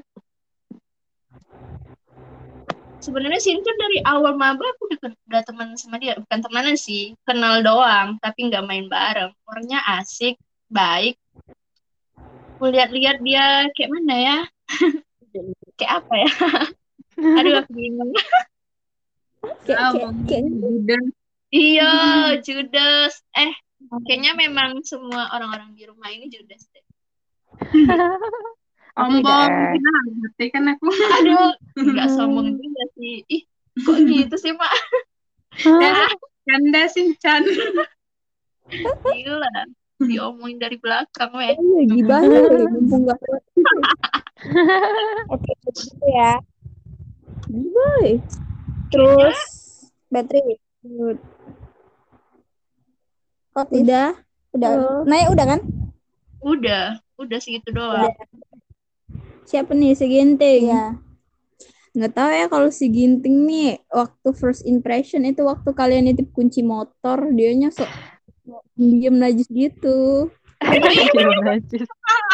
sebenarnya Shinchan dari awal maba aku udah teman sama dia, bukan temenan sih, kenal doang, tapi nggak main bareng. Orangnya asik, baik. Aku lihat-lihat dia kayak mana ya? Kayak apa ya? Aduh, aku bingung. Kayak Iya, judes. Kayaknya memang semua orang-orang di rumah ini judes deh. Tidak. Ngerti kan aku. Aduh, nggak sombong juga sih. Ih, kok gitu sih, Mak? Canda sih, Chan. Gila, diomongin dari belakang, weh. gibahnya mumpung gak kuat. Oke, gitu ya. Gibah. Terus battery. Udah. Naya udah kan? Udah segitu doang. Siapa nih si Ginting? Iya. Nggak tahu ya kalau si Ginting nih waktu first impression itu waktu kalian nitip kunci motor dianya sok diem najis gitu. Diem najis.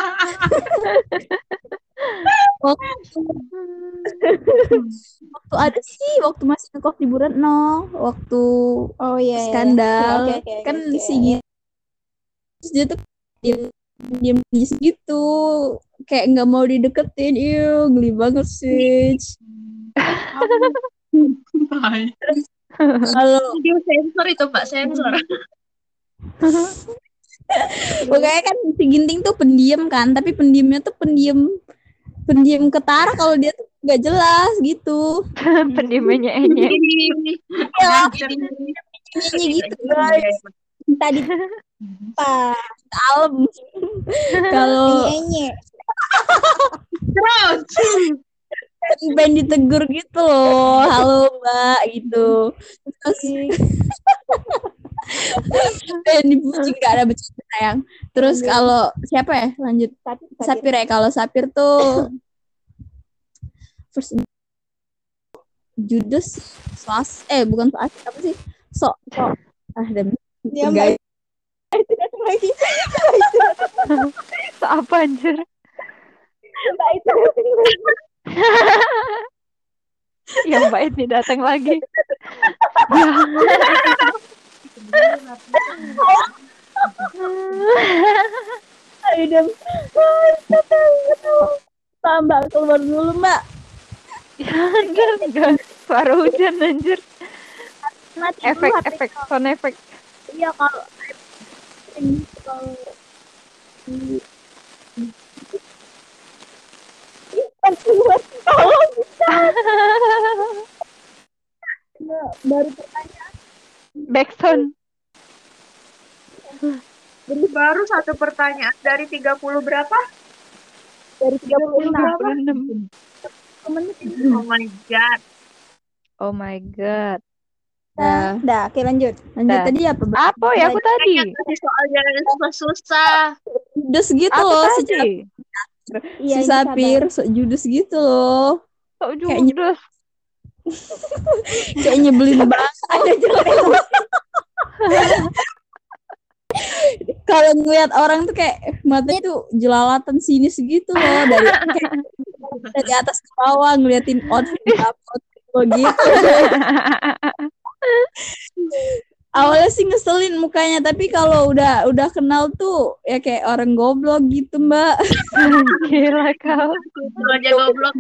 Waktu ada sih waktu masih ngekos di Buretno waktu skandal kan si Ginting terus dia tuh diem gitu kayak nggak mau dideketin. Geli banget sih. Kalau Video sensor itu, Mbak, sensor. pokoknya kan si Ginting tuh pendiam kan, tapi pendiamnya tuh pendiam ketara kalau dia tuh nggak jelas gitu. Pendiamnya enye. Ya, gitu guys. Tadi kalem. Kalau pengen ditegur gitu loh, halo Mbak gitu. Terus pengen dipuji gak ada bercanda sayang. Terus kalau siapa ya lanjut Sapir ya, kalau Sapir tuh first judes bukan apa sih dan guys lagi Apa anjir? Yang baik nih datang lagi. Mbak keluar dulu Mbak. Ya enggak. Suara hujan anjir. Efek sound efek. Iya kalau baru pertanyaan Backsound. Baru satu pertanyaan dari 30 berapa? dari 36. Oh my god. Oh my god. Dah, oke lanjut tadi apa Mbak? Apa ya aku tadi? Soalnya susah. Judes gitu Aku loh tadi. si Sapir sok judes gitu loh. Sok judes. Kayak nyebelin banget. Ada kalau ngeliat orang tuh kayak matanya tuh jelalatan sinis gitu loh dari atas ke bawah ngeliatin outfit gitu. Awalnya sih ngeselin mukanya, tapi kalau udah kenal tuh ya kayak orang goblok gitu Mbak. Gila kau. Aja goblok.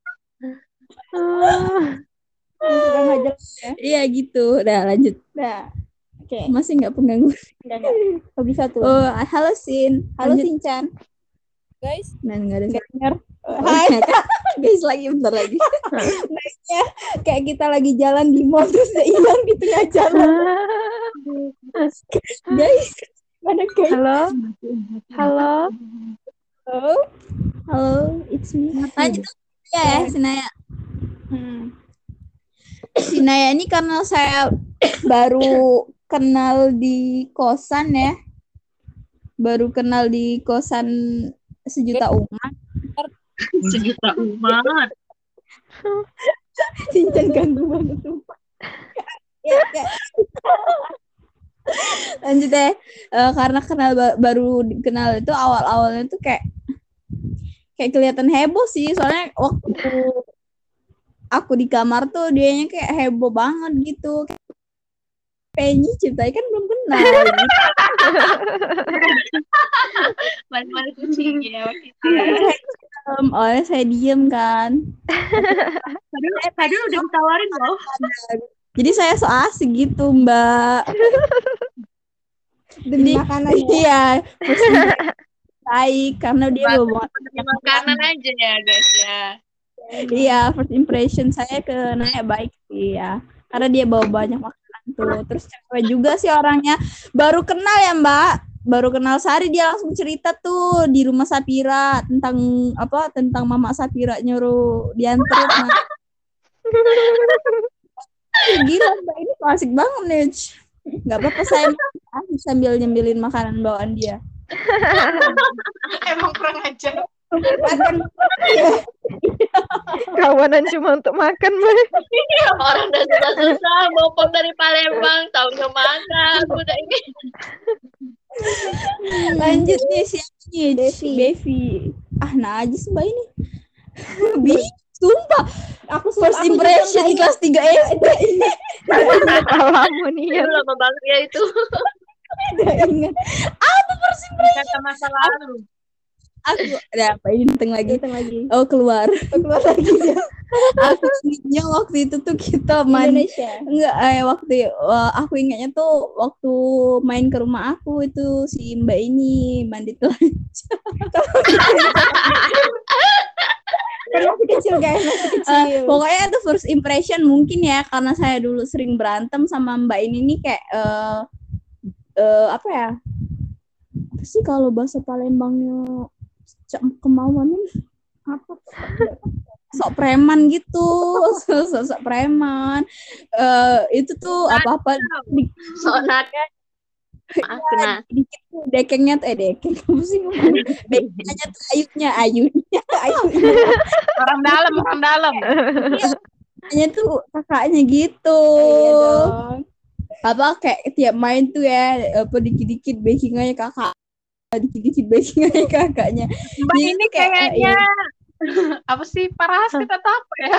Iya gitu. Udah lanjut. Oke. Masih nggak pengganggu? Nggak bisa tuh. Halo Sin. Halo Sinchan. Guys. Nah nggak ada dengar. Hai. Guys lagi bentar lagi. Guysnya kayak kita lagi jalan di mall terus dia hilang di tengah jalan. Guys, mana guys? Halo. Halo, it's me. Lanjut ya Sinaya. Sinaya ini karena saya baru kenal di kosan ya. Baru kenal di kosan sejuta umat. Sejuta umat. Sinchan ganggu banget sumpah. Ya. Lanjut deh. Karena baru kenal itu awal-awalnya tuh kayak kayak kelihatan heboh sih, soalnya waktu aku di kamar tuh dianya kayak heboh banget gitu. Penyi ciptai kan belum kenal gitu. Malu-malu kucing ya waktu itu. Awalnya saya diem kan. Tadi udah ditawarin loh. Jadi saya so asik gitu, Mbak. Demi makanan ya. Iya, baik karena dia bawa Makanan aja ya guys ya. Iya, first impression saya ke Naya baik sih ya. Karena dia bawa banyak makanan tuh. Terus cewek juga sih orangnya. Baru kenal ya, Mbak. Baru kenal sehari dia langsung cerita tuh di rumah Sapira tentang apa? Tentang Mama Sapira nyuruh dianterin. Gila, Mbak, ini klasik banget nih. Nggak apa-apa saya sambil nyembilin makanan bawaan dia. Emang kurang ajar. Kawanan cuma untuk makan, Mbak. Orang udah susah-susah bopong dari Palembang, taunya makan udah ini. Lanjut nih siapa nih? Bevi. Ah, najis Mbak ini. Sumpah. Aku first impression di kelas 3 SD. Alamu nih ya. Itu lama banget ya itu. Udah ingat. Apa first impression? Kata masa lalu. Aku ada apa ini datang lagi. Oh, keluar lagi ya. Aku ingatnya waktu itu tuh kita main Indonesia. enggak aku ingatnya tuh waktu main ke rumah aku itu si Mbak ini mandi telanjang. Masih kecil guys, masih kecil. Pokoknya itu first impression mungkin ya karena saya dulu sering berantem sama Mbak ini nih kayak apa ya? Apa sih kalau bahasa Palembangnya kemauan apa? Sok preman gitu, sok preman. Itu tuh apa-apa Soalnya kena dikit tuh dekengnya tuh dekeng apa sih ngomong? Dekengnya tuh ayunya. Orang dalam. Hanya tuh kakaknya gitu. Iya dong. Apa kayak tiap main tuh ya apa dikit-dikit backingannya kakak. Dikit-dikit backingannya kakaknya. Mbak Jadi ini tuh kayak, kayaknya apa sih parasit atau apa ya?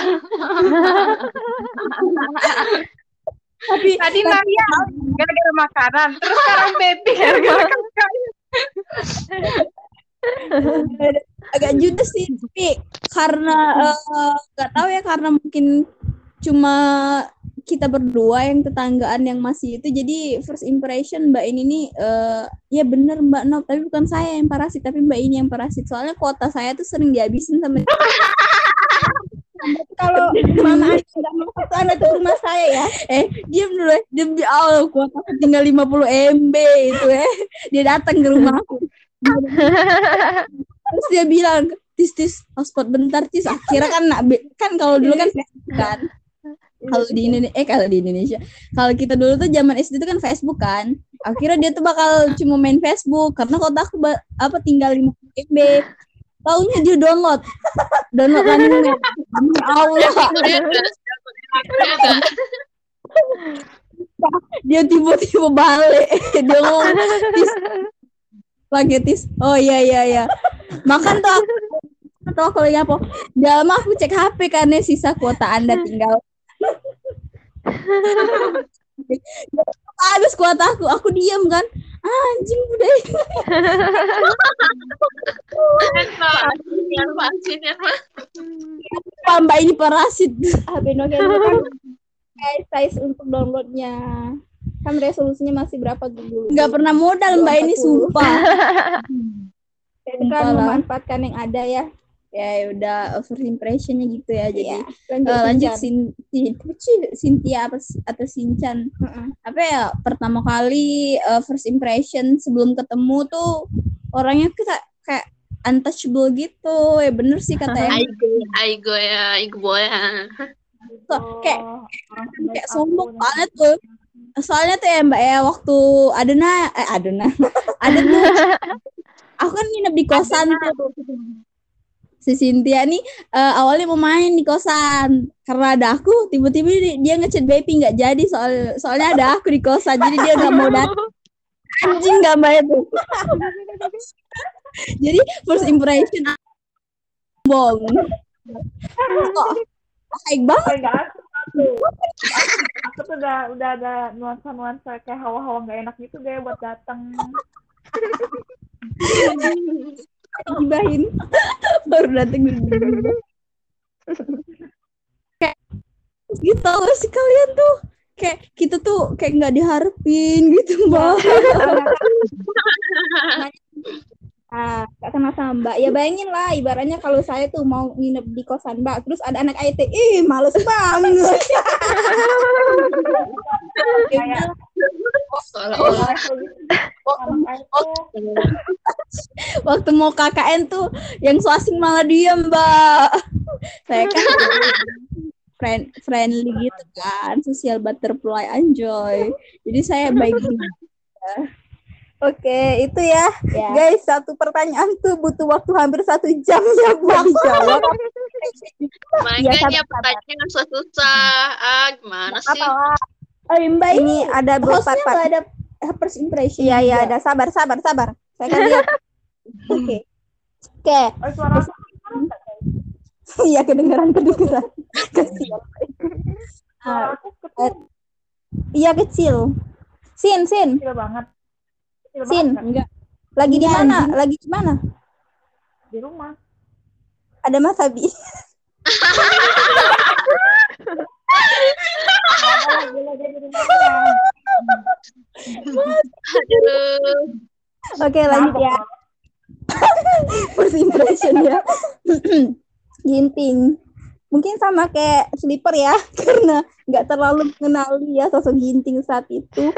Tapi Tadi Naya gara-gara makanan, terus sekarang baby gara-gara kakaknya. agak judes sih tapi karena nggak tahu ya karena mungkin cuma kita berdua yang tetanggaan yang masih itu jadi first impression Mbak ini nih ya bener Mbak Nop tapi bukan saya yang parasit tapi Mbak ini yang parasit soalnya kuota saya tuh sering dihabisin sama Kalau mama Anda nggak mau ke Anda tuh rumah saya ya. diam dulu ya demi Allah kuota aku tinggal 50 MB itu dia datang ke rumah aku terus dia bilang tis hotspot bentar tis akhirnya kan kalau dulu kan Facebook kan kalau di Indonesia kalau kita dulu tuh zaman SD itu kan Facebook kan akhirnya dia tuh bakal cuma main Facebook karena kota aku tinggal 50 MB taunya dia download Running Man demi Allah dia tiba-tiba balik dia ngomong tis oh iya makan tuh aku lagi apa dalam aku cek HP karena sisa kuota Anda tinggal habis kuota aku diam kan anjing udah Mbak ini parasit HP Nokia itu kan size untuk downloadnya kan resolusinya masih berapa dulu? nggak pernah modal Mbak ini sumpah Jadi kan memanfaatkan yang ada ya. Ya udah first impressionnya gitu ya jadi Lanjut Cynthia atau Sinchan apa ya pertama kali first impression sebelum ketemu tuh orangnya kita kayak untouchable gitu ya bener sih katanya Aigo boy kayak sombong banget tuh soalnya tuh ya Mbak ya waktu ada tuh aku kan nginep di kosan tuh si Cynthia nih awalnya mau main di kosan karena ada aku tiba-tiba dia ngechat Baby nggak jadi soalnya ada aku di kosan jadi dia nggak mau datang anjing nggak Mbak itu jadi first impression Bong. Kok baik banget. Kayak gak asik tuh. Aku tuh udah ada nuansa kayak hawa-hawa gak enak gitu deh buat datang. Gibahin. Baru dateng kayak gitu sih kalian tuh. Kayak kita tuh kayak nggak diharapin gitu, Mbak. Gak kenal sama Mbak. Ya bayangin lah, ibaratnya kalau saya tuh mau nginep di kosan Mbak, terus ada anak IT, males banget. Kayak Waktu mau KKN tuh yang so asing malah diem, Mbak. Saya kan friendly gitu kan, social butterfly, enjoy. Jadi saya baik juga. Oke, itu ya. Guys, satu pertanyaan tuh butuh waktu hampir 1 jam ya buat dijawab. Makanya pertanyaan susah. Gimana sih? Mbak ini ada beberapa part. Ada first impression. Iya, ada. Sabar. Saya kan lihat. Oke. suara Iya, kedengeran. Kasihan. aku kecil Iya, kecil. Sin. banget. Sin, enggak. Lagi di mana? Di rumah. Ada Mas Abi. Aduh. Oke, lanjut ya. First impression ya. Ginting. Mungkin sama kayak Slipper ya, karena nggak terlalu mengenali ya sosok Ginting saat itu.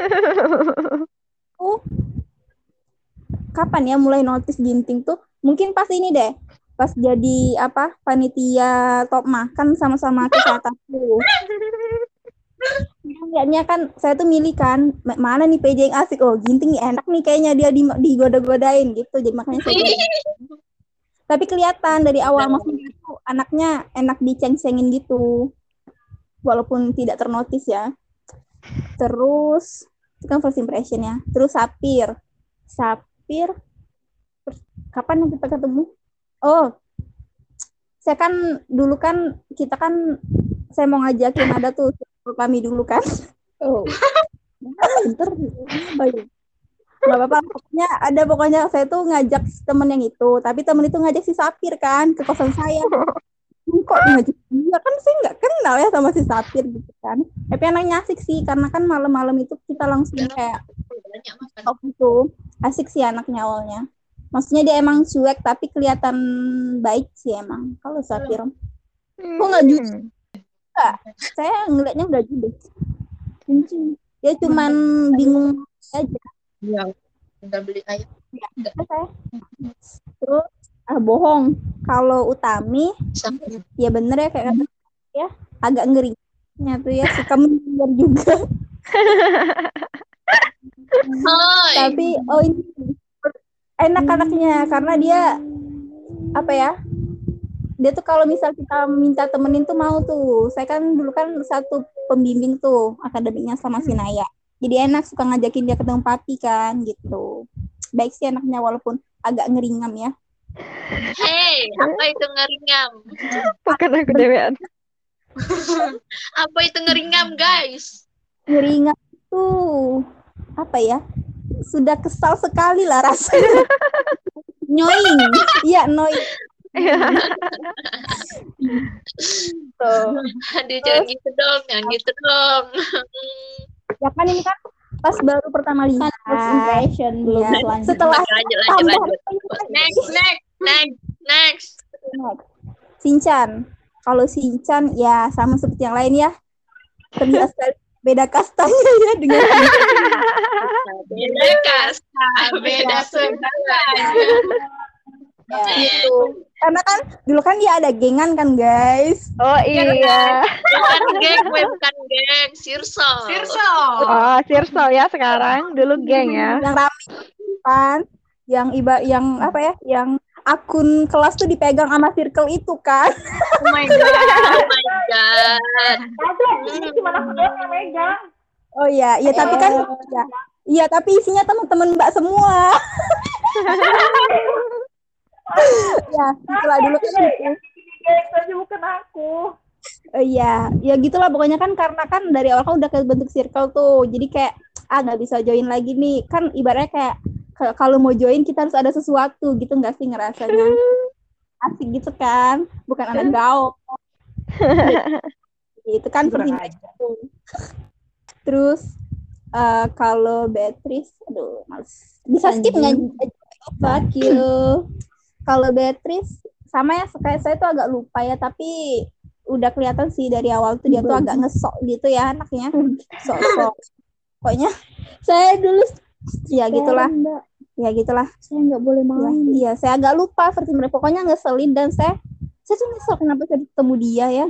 Kapan ya mulai notice Ginting tuh? Mungkin pas ini deh, pas jadi panitia top makan sama-sama kesehatan tuh. Lihatnya kan saya tuh milih kan mana nih PJ yang asik, Ginting nih enak nih kayaknya dia digoda-godain gitu, jadi makanya saya tapi kelihatan dari awal maksudnya itu anaknya enak diceng-cengin gitu walaupun tidak ternotis ya. Terus itu kan first impression ya. Terus Sapir kapan kita ketemu? Saya kan dulu kan kita kan saya mau ngajakin ada tuh kami dulu kan. Bentar, nggak apa-apa, pokoknya saya tuh ngajak temen yang itu, tapi temen itu ngajak si Sapir kan ke kosan saya. Kok ngajak dia, kan saya nggak kenal ya sama si Sapir gitu kan. Tapi anaknya asik sih, karena kan malam-malam itu kita langsung kayak gitu. Asik sih anaknya awalnya. Maksudnya dia emang cuek tapi kelihatan baik sih emang. Kalau Sapir kok nggak jujur? Enggak, saya ngeliatnya nggak jujur. Dia cuman bingung aja. Ya, udah beli ayam. Terus bohong. Kalau Utami ya bener ya kayak ya agak ngeri. Tuh ya suka mendengar juga. Tapi ini enak anaknya karena dia dia tuh kalau misal kita minta temenin tuh mau tuh. Saya kan dulu kan satu pembimbing tuh akademiknya sama si Naya. Jadi enak suka ngajakin dia ketemu papi kan gitu. Baik sih anaknya walaupun agak ngeringam ya. Hei, apa itu ngeringam? Bukan aku dewean. Apa itu ngeringam, guys? Ngeringam tuh sudah kesal sekali lah rasanya. Annoying. Iya, annoying. Aduh, jangan gitu dong. Ya kan ini kan pas baru pertama lihat first impression belum selanjutnya. Setelah lanjut. Next. Shinchan. Kalau Shinchan ya sama seperti yang lain ya. Terbiasa beda kastanya ya dengan beda segala. Ya, itu. Karena kan dulu kan dia ada gengan kan guys. Oh iya. Bukan geng, Sirso. Oh, Sirso ya sekarang, dulu geng ya. Yang rame kan, yang akun kelas tuh dipegang sama circle itu kan. Oh my god. Ini cuma aku doang yang megang. Oh iya, tapi kan Iya, tapi isinya teman-teman Mbak semua. Ya, itulah dulu kan gitu. Guys, aja bukan aku. Iya, ya gitulah pokoknya kan karena kan dari awal kan udah kebentuk circle tuh. Jadi kayak nggak bisa join lagi nih. Kan ibaratnya kayak kalau mau join kita harus ada sesuatu gitu nggak sih ngerasanya? Asik gitu kan. Bukan anak gaul. Itu kan pertimbangan itu. Terus kalau Beatrice, aduh males. Bisa skip nggak? Fuck you. Kalau Beatrice sama ya kayak saya tuh agak lupa ya, tapi udah kelihatan sih dari awal tuh dia tuh agak ngesok gitu ya anaknya. Sok-sok. Pokoknya saya dulu ya gitulah. Ya gitulah. Saya nggak boleh main. Iya, saya agak lupa versi mereka. Pokoknya ngeselin dan saya tuh nyesel kenapa saya ketemu dia ya.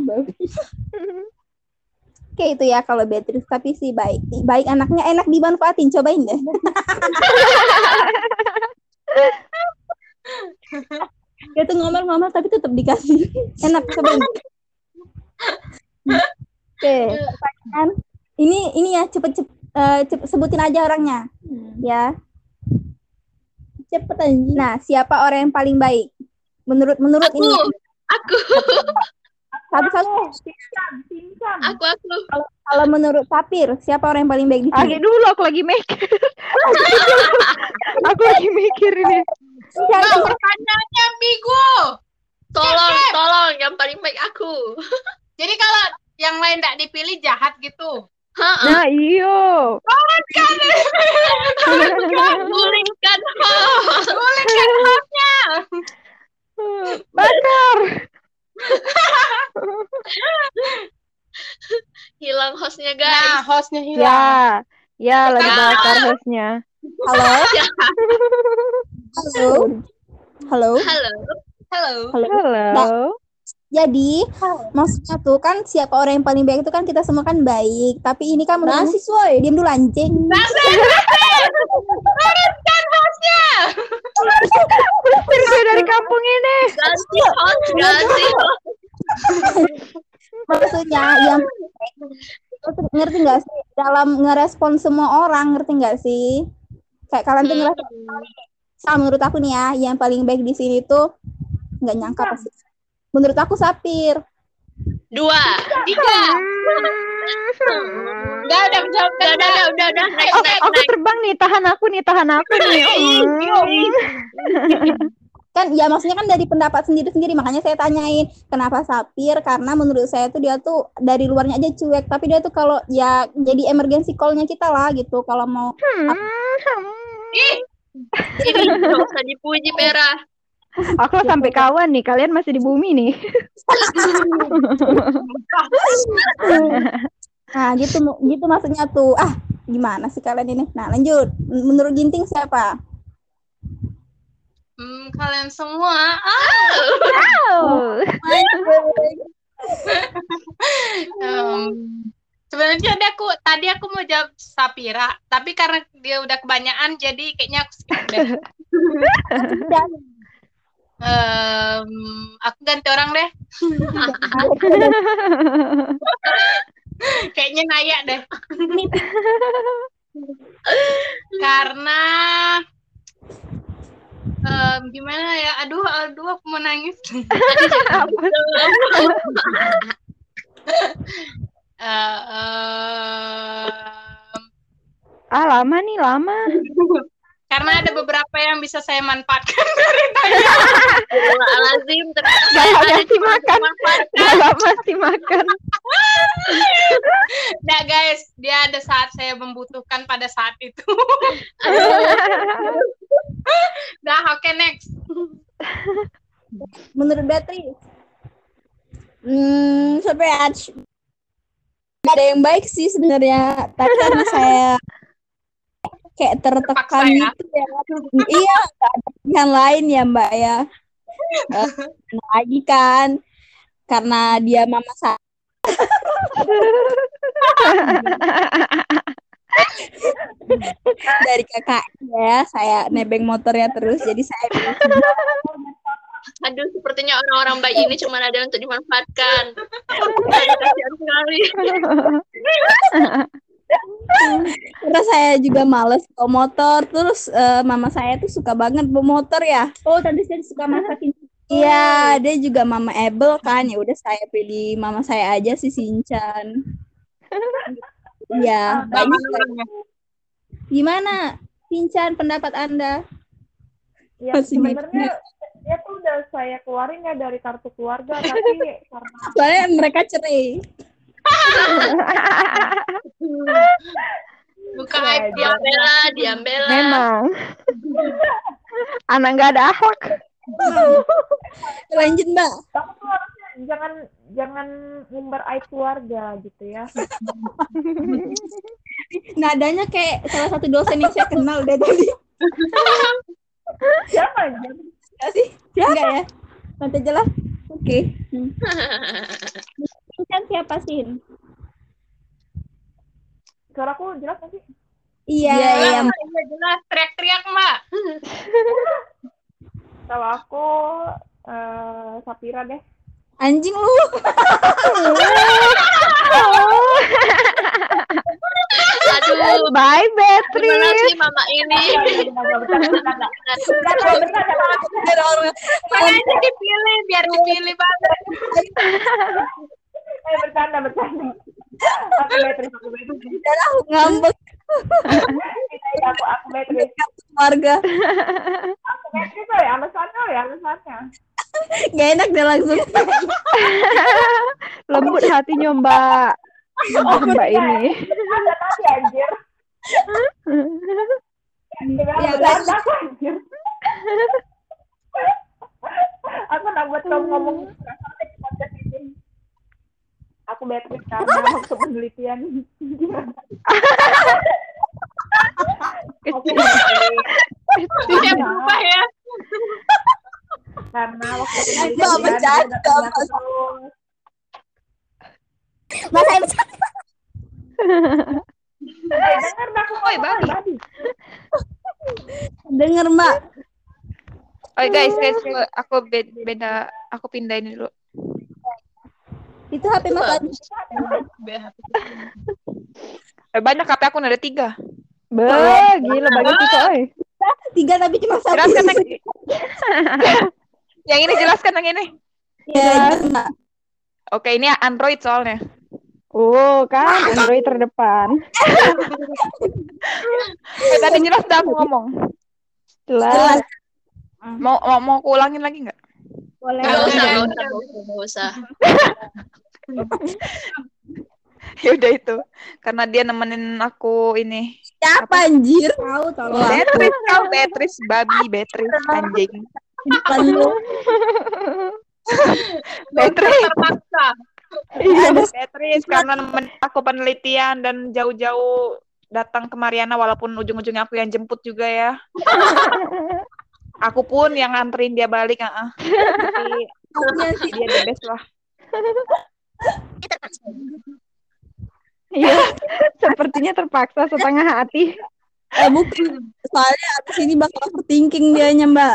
Kayak itu ya kalau Beatrice, tapi sih baik anaknya, enak dimanfaatin, cobain deh. Dia tuh ngomel-ngomel tapi tetap dikasih, enak, cobain. Oke, pertanyaan ini ya cepet sebutin aja orangnya, ya. Cepet aja. Nah, siapa orang yang paling baik? Menurut ini. Aku. Satu. Aku. Kalau menurut Sapir, siapa orang yang paling baik di sini? Lagi dulu aku lagi mikir. Aku lagi mikir ini. Pertanyaannya ambigu. Tolong yang paling baik aku. Jadi kalau yang lain tidak dipilih jahat gitu. Nah, iyo. Gulingkan hostnya. Bakar. Hilang hostnya guys. Nah, hostnya hilang. Ya lagi bakar hostnya. Halo. Nah, jadi maksudnya tuh kan siapa orang yang paling baik itu kan kita semua kan baik, tapi ini kan mahasiswa ya, diam dulu anjing. Uruskan hostnya. Usir dia dari kampung ini. Ganti host. Maksudnya yang ngerti nggak sih dalam ngerespon semua orang, ngerti nggak sih? Kayak kalian tuh ngerasa menurut aku nih ya, yang paling baik di sini tuh nggak nyangka pasti. Menurut aku Sapir. 2, 3. Udah. Aku terbang nih, tahan aku nih. Kan ya maksudnya kan dari pendapat sendiri-sendiri, makanya saya tanyain kenapa Sapir, karena menurut saya tuh dia tuh dari luarnya aja cuek, tapi dia tuh kalau ya jadi emergency call-nya kita lah gitu kalau mau Ini nggak usah dipuji Pera. Aku sampai kawan nih, kalian masih di bumi nih. Nah gitu maksudnya tuh. Gimana sih kalian ini? Nah lanjut, menurut Ginting siapa? Kalian semua. Sebenarnya tadi aku mau jawab Sapira, tapi karena dia udah kebanyakan jadi kayaknya aku skip deh. Aku ganti orang deh. Kayaknya Naya deh. Karena gimana ya? Aduh, aku mau nangis. Lama. Karena ada beberapa yang bisa saya manfaatkan dari tadi. Lazim masih makan. Nah guys, dia ada saat saya membutuhkan pada saat itu. Nah, oke, next. Menurut Beatrice, sebenarnya ada yang baik sih sebenarnya, tapi karena saya kayak tertekan gitu ya. Iya, nggak ada pilihan lain ya Mbak ya. Lagi kan, karena dia mama saya. Dari kakak ya, saya nebeng motornya terus, jadi saya Aduh, sepertinya orang-orang baik ini cuma ada untuk dimanfaatkan. Kasihan sekali. Karena saya juga males bawa motor. Terus mama saya tuh suka banget bawa motor ya. Oh, tante saya suka masakin. Iya, dia juga mama Abel kan. Ya udah saya pilih mama saya aja si Shinchan. Iya, banyak. Gimana Shinchan pendapat Anda? Ya sebenarnya dia tuh udah saya keluarin ya dari kartu keluarga, tapi karena Soalnya mereka cerai. Bukan diam bela. Memang. Anak nggak ada akhlak. Lanjut Mbak. kamu tuh harusnya jangan ngumbar aib keluarga gitu ya. Nadanya kayak salah satu dosen yang saya kenal deh tadi. Siapa aja? Enggak sih? Enggak ya? Nanti aja lah. Oke. Kan siapa sih? Suaraku jelas nggak sih? Iya. Iya, jelas. Teriak-teriak, Mbak. Kalau aku Sapira deh. Anjing lu. Aduh, Bye, Beatrice. gimana sih mama ini? Makanya dipilih, biar dipilih banget. Bercanda. Aku Beatrice. Ngambek Aku Beatrice. keluarga. Aku Beatrice ya, alasannya. Gak enak deh langsung. Lembut hatinya Mbak. Mbak ini. Ada tadi anjir. Ya, Bercanda aku anjir. Aku nak buat kamu ngomong di podcast ini. Aku Beatrice karena waktu penelitian. Aku Dia berubah ya. karena waktu Mbak penelitian bercanda, terus. Mas saya bercanda. Dengar aku Oi, babi. Denger Mbak. Oh guys, aku beda, aku pindah ini dulu. Itu HP Mas Adi. Banyak HP aku ada 3. Gila bagi kita, oi. 3 tapi cuma 1. Jelaskan yang ini, jelaskan yang ini. Ya, Mbak. Oke, ini Android soalnya. Oh, kan Android terdepan. Tadi jelas dah aku ngomong. Jelas. Mau aku ulangin lagi nggak? Boleh. Nggak usah. Ya udah itu. Karena dia nemenin aku ini. Siapa anjir? Tahu tolong. Beatrice, babi, Beatrice, anjing. Bukan lu. Beatrice. Terpaksa. Beatrice karena aku penelitian dan jauh-jauh datang ke Mariana walaupun ujung-ujungnya aku yang jemput juga ya. Aku pun yang nganterin dia balik, Tapi dia the best lah. Iya, sepertinya terpaksa setengah hati. Bukan. Soalnya abis ini bakal overthinking dianya, Mbak.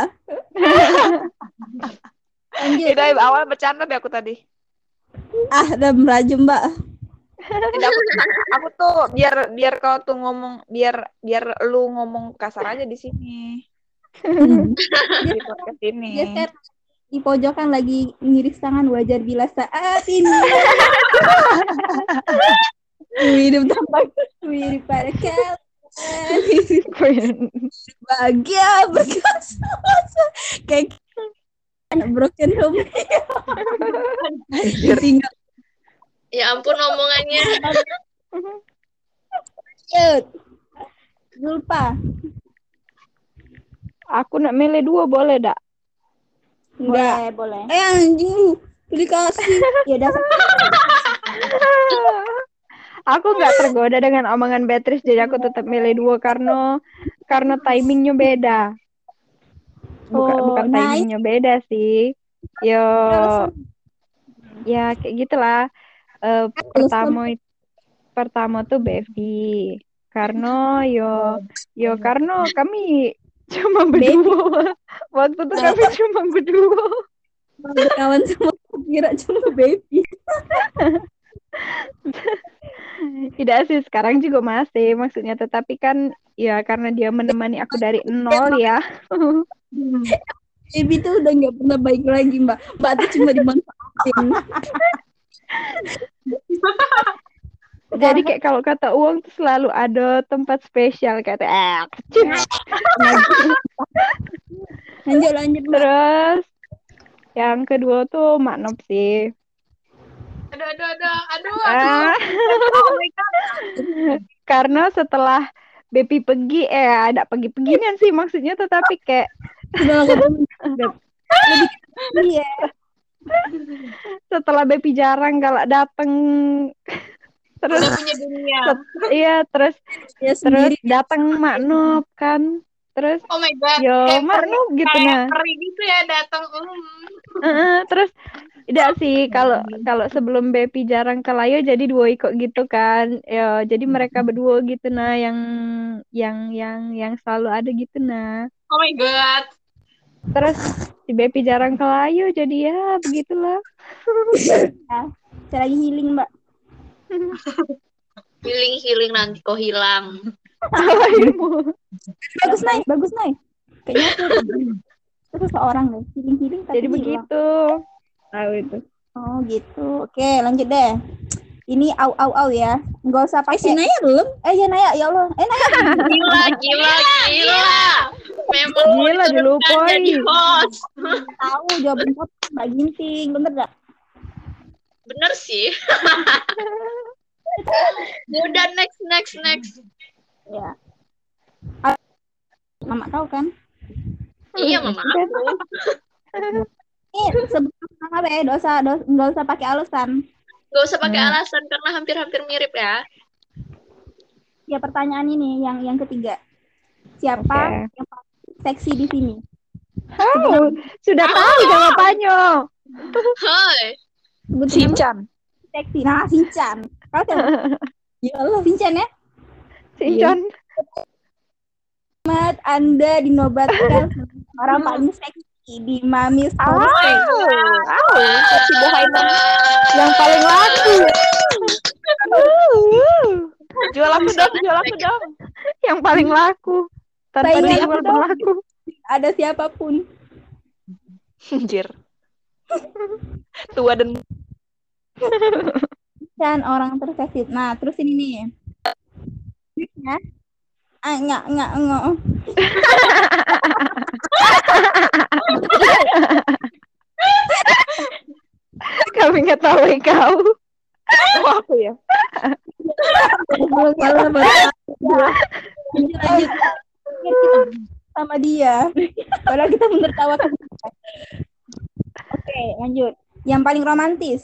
Lanjut. Udah awal bercanda deh aku tadi. Udah merajum, Mbak. Tidak, aku tuh biar kau tuh ngomong biar lu ngomong kasar aja di sini. Di podcast ini. Dia kan di pojokan lagi ngiris tangan, wajar bila saat ini. Hidup tampak mirip pada kalian. Bahagia berkasa kayak broken home. Tinggal. Ya ampun omongannya. Lanjut. Zulpa. Aku nak milih 2 boleh dak? Enggak. Boleh. Anjing lu. Dikasih. Ya udah. Aku nggak tergoda dengan omongan Beatrice, jadi aku tetap milih 2 karena timingnya beda. Bukan timingnya beda sih. Ya kayak gitulah. Pertama tuh Bevi. Karena karena kami cuma berdua. Waktu itu kami cuma berdua. Berkawan sama kira cuma baby. Tidak sih, sekarang juga masih maksudnya, tetapi kan ya karena dia menemani aku dari nol ya. Baby tuh udah nggak pernah baik lagi, Mbak. Mbak tuh cuma dimanfaatin. Jadi kayak kalau kata uang tuh selalu ada tempat spesial kata. Lanjut, Mbak. Terus yang kedua tuh Mak Nop sih. Aduh. Oh my God. Karena setelah Bepi pergi, ada pergi-pergian sih maksudnya, tetapi kayak Iya. setelah Bepi jarang kalau datang, terus Udah punya dunia. terus datang Mak Nop kan, terus Oh my God. yo Kayak Mak Nop gitu nah. peri gitu ya datang. Terus tidak sih kalau sebelum Bepi jarang ke Layo jadi dua ikut gitu kan ya, jadi mereka berdua gitu nah yang selalu ada gitu nah. Oh my God. Terus si Bepi jarang ke Layo jadi ya begitulah. Saya lagi healing, Mbak. Healing nanti kok hilang. Bagus Nay. Kayaknya itu seseorang deh, healing tapi Jadi begitu. Tahu itu. Oh gitu. Oke, lanjut deh. Ini au ya. Nggak usah pakai. Naya belum? Ya Naya, ya Allah. Naya. Gila. Memang Gila dulu jadi host. Tahu jawaban Mbak Ginting, bener gak? Bener sih. Udah next. Ya. Mama tahu kan? Iya, Mama aku. Sebelum apa ya? Nggak usah pakai alasan. Gak usah pakai alasan karena hampir-hampir mirip ya. Ya pertanyaan ini yang ketiga. Siapa yang paling seksi di sini? Sudah tahu jawabannya. Hai. Shinchan. Seksi. Nah, Shinchan. Kalau ya Allah, Shinchan ya? Shinchan. Selamat Anda dinobatkan orang paling seksi di Mami Homestay. Yang paling laku. Jual aku dong. Yang paling laku. Tanpa Saingan dijual pun laku. Ada siapapun. Anjir. Tua dan Dan orang terseksi. Nah, terus ini nih. Ya. Enggak. Kami nggak tahu kau. oh, aku ya. Lanjut. Sama dia. Padahal kita menertawakan. Oke, lanjut. Yang paling romantis.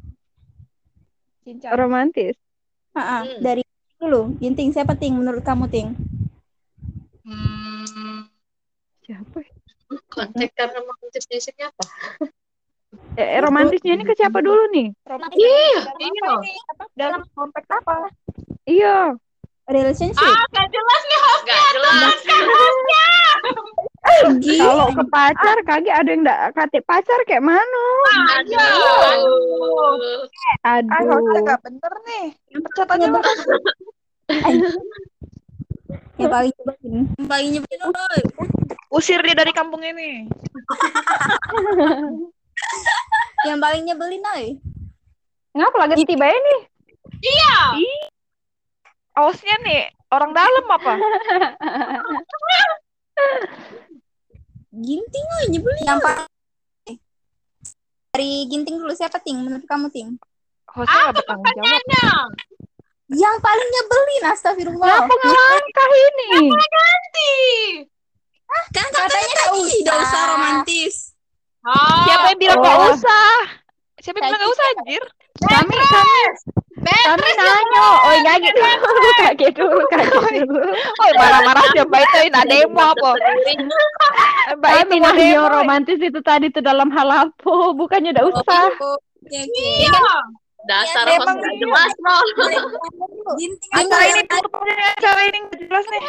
Romantis. Dari dulu. Ginting, siapa Ting menurut kamu Ting? Siapa? Konteks karena romantisnya apa? Romantisnya ini ke siapa dulu nih? Iya. Dalam konteks apa? Iya. Relationship. Gak jelas nih hostnya. Gak jelas. Kalau ke pacar kagak ada yang enggak kate pacar kayak mana? Hostnya gak bener nih. Yang pecat aja lah. Yang paling nyebelin. Usir dia dari kampung ini. Yang paling nyebelin, Noy. Ngapa lagi tiba ini? Iya. Hostnya nih orang dalam apa? Ginting nyebelin. Yang paling dari Ginting dulu siapa Ting? Menurut kamu Ting? Hostnya gak bertanggung jawab. Yang paling nyebelin, astagfirullah. Kenapa ngelangkah ini? Ganti. Kan katanya tadi tidak usah romantis. Siapa yang bilang gak usah? Siapa yang bilang gak usah anjir? Kami nanya. Oh, kaget dulu. Oh, marah-marah siapa itu? Nah, demo apa? Kami nanya romantis itu tadi tuh dalam hal apa? Bukannya udah usah. Iya. Dasar host gak jelas loh. Acara ini gak jelas nih.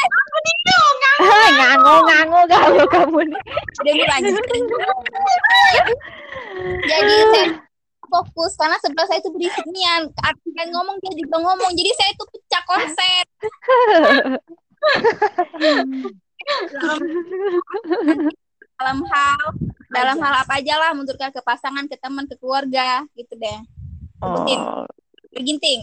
Ngango kalau kamu nih. Udah lanjut. Jadi fokus karena sebelah saya itu berisik Nian. Artinya ngomong dia juga ngomong. Jadi saya itu pecah konsep. dalam hal apa aja lah menurut ke pasangan, ke teman, ke keluarga gitu deh. Sebutin. Berginting.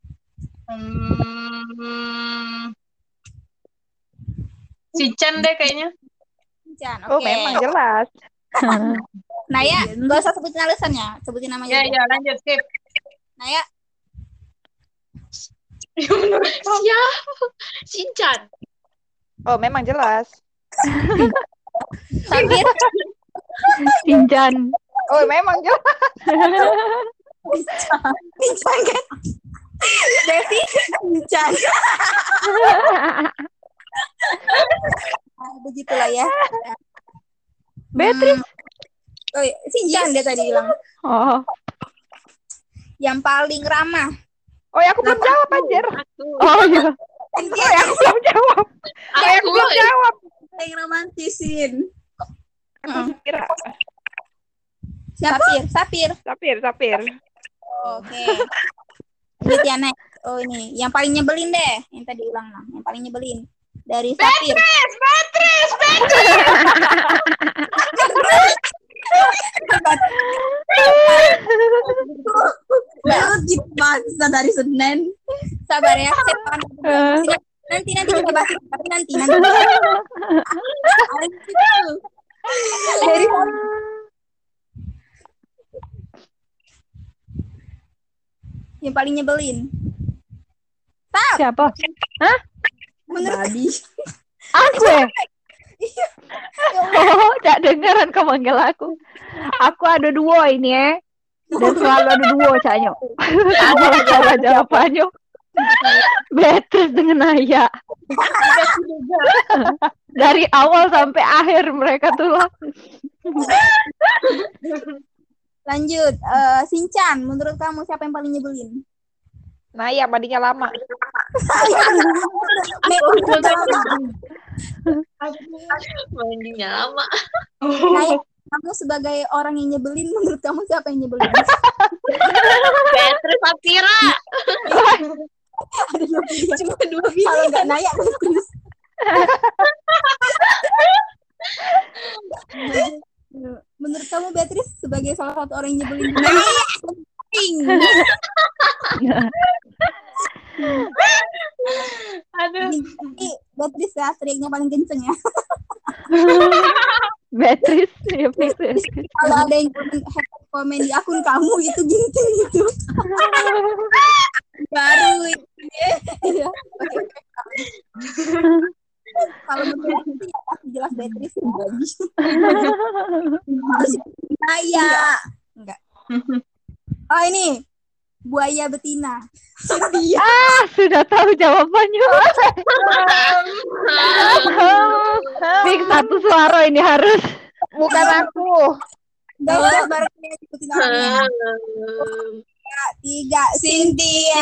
Sinchan deh kayaknya. Sinchan, Oh, oke. memang jelas. Naya, gak usah sebutin alasannya, sebutin namanya. Ya, lanjut, skip. Naya. Siapa? Shinchan. Oh, memang jelas. Sapir. Shinchan. Oh, memang jelas. Sinchan kan? Devi, Sinchan. Begitulah ya. Beatrice. Oh, Sinchan dia tadi bilang. Oh. Yang paling ramah. Oh, ya aku belum jawab, anjir. Aku. Oh, iya. Oh, ya aku belum jawab. Oh, ya aku belum jawab. Yang romantisin. Aku kira. Sapir. Sapir. Oke. Lanjut ya, Nek. Oh, ini. Yang paling nyebelin deh. Yang tadi ulang lah. Yang paling nyebelin. Dari Sapir. Beatrice. Baru gitu bahasa dari Senin. Sabar ya. Nanti kita bahas. Tapi nanti. Dari yang paling nyebelin. Siapa? Hah? Menurut Aku ya? Oh, tak dengeran kau manggil aku. Aku ada dua ini ya. Dan selalu ada dua Canyo. Salah jawabannya. Beatrice dengan Naya. Dari awal sampai akhir mereka tuh lah. Lanjut, Sinchan, menurut kamu siapa yang paling nyebelin? Naya, mandinya lama. Mandinya lama. Naya, kamu sebagai orang yang nyebelin, menurut kamu siapa yang nyebelin? Beatrice Sapira. Ada cuma dua biji. Kalau nggak Naya, terus. Menurut kamu Beatrice sebagai salah satu orang yang nyebelin? Aduh. Ini Beatrice ya, teriaknya paling kenceng ya. Beatrice, ya Beatrice. Kalau ada yang komen di akun kamu itu ginting itu. Baru itu ya. Kalau menurut aku ya pasti jelas Beatrice yang bagus. Naya. Enggak. Oh ini buaya betina. Sudah tahu jawabannya. Fix satu suara ini harus. Bukan aku. Guys, baru ikutin orangnya. 3, Cynthia.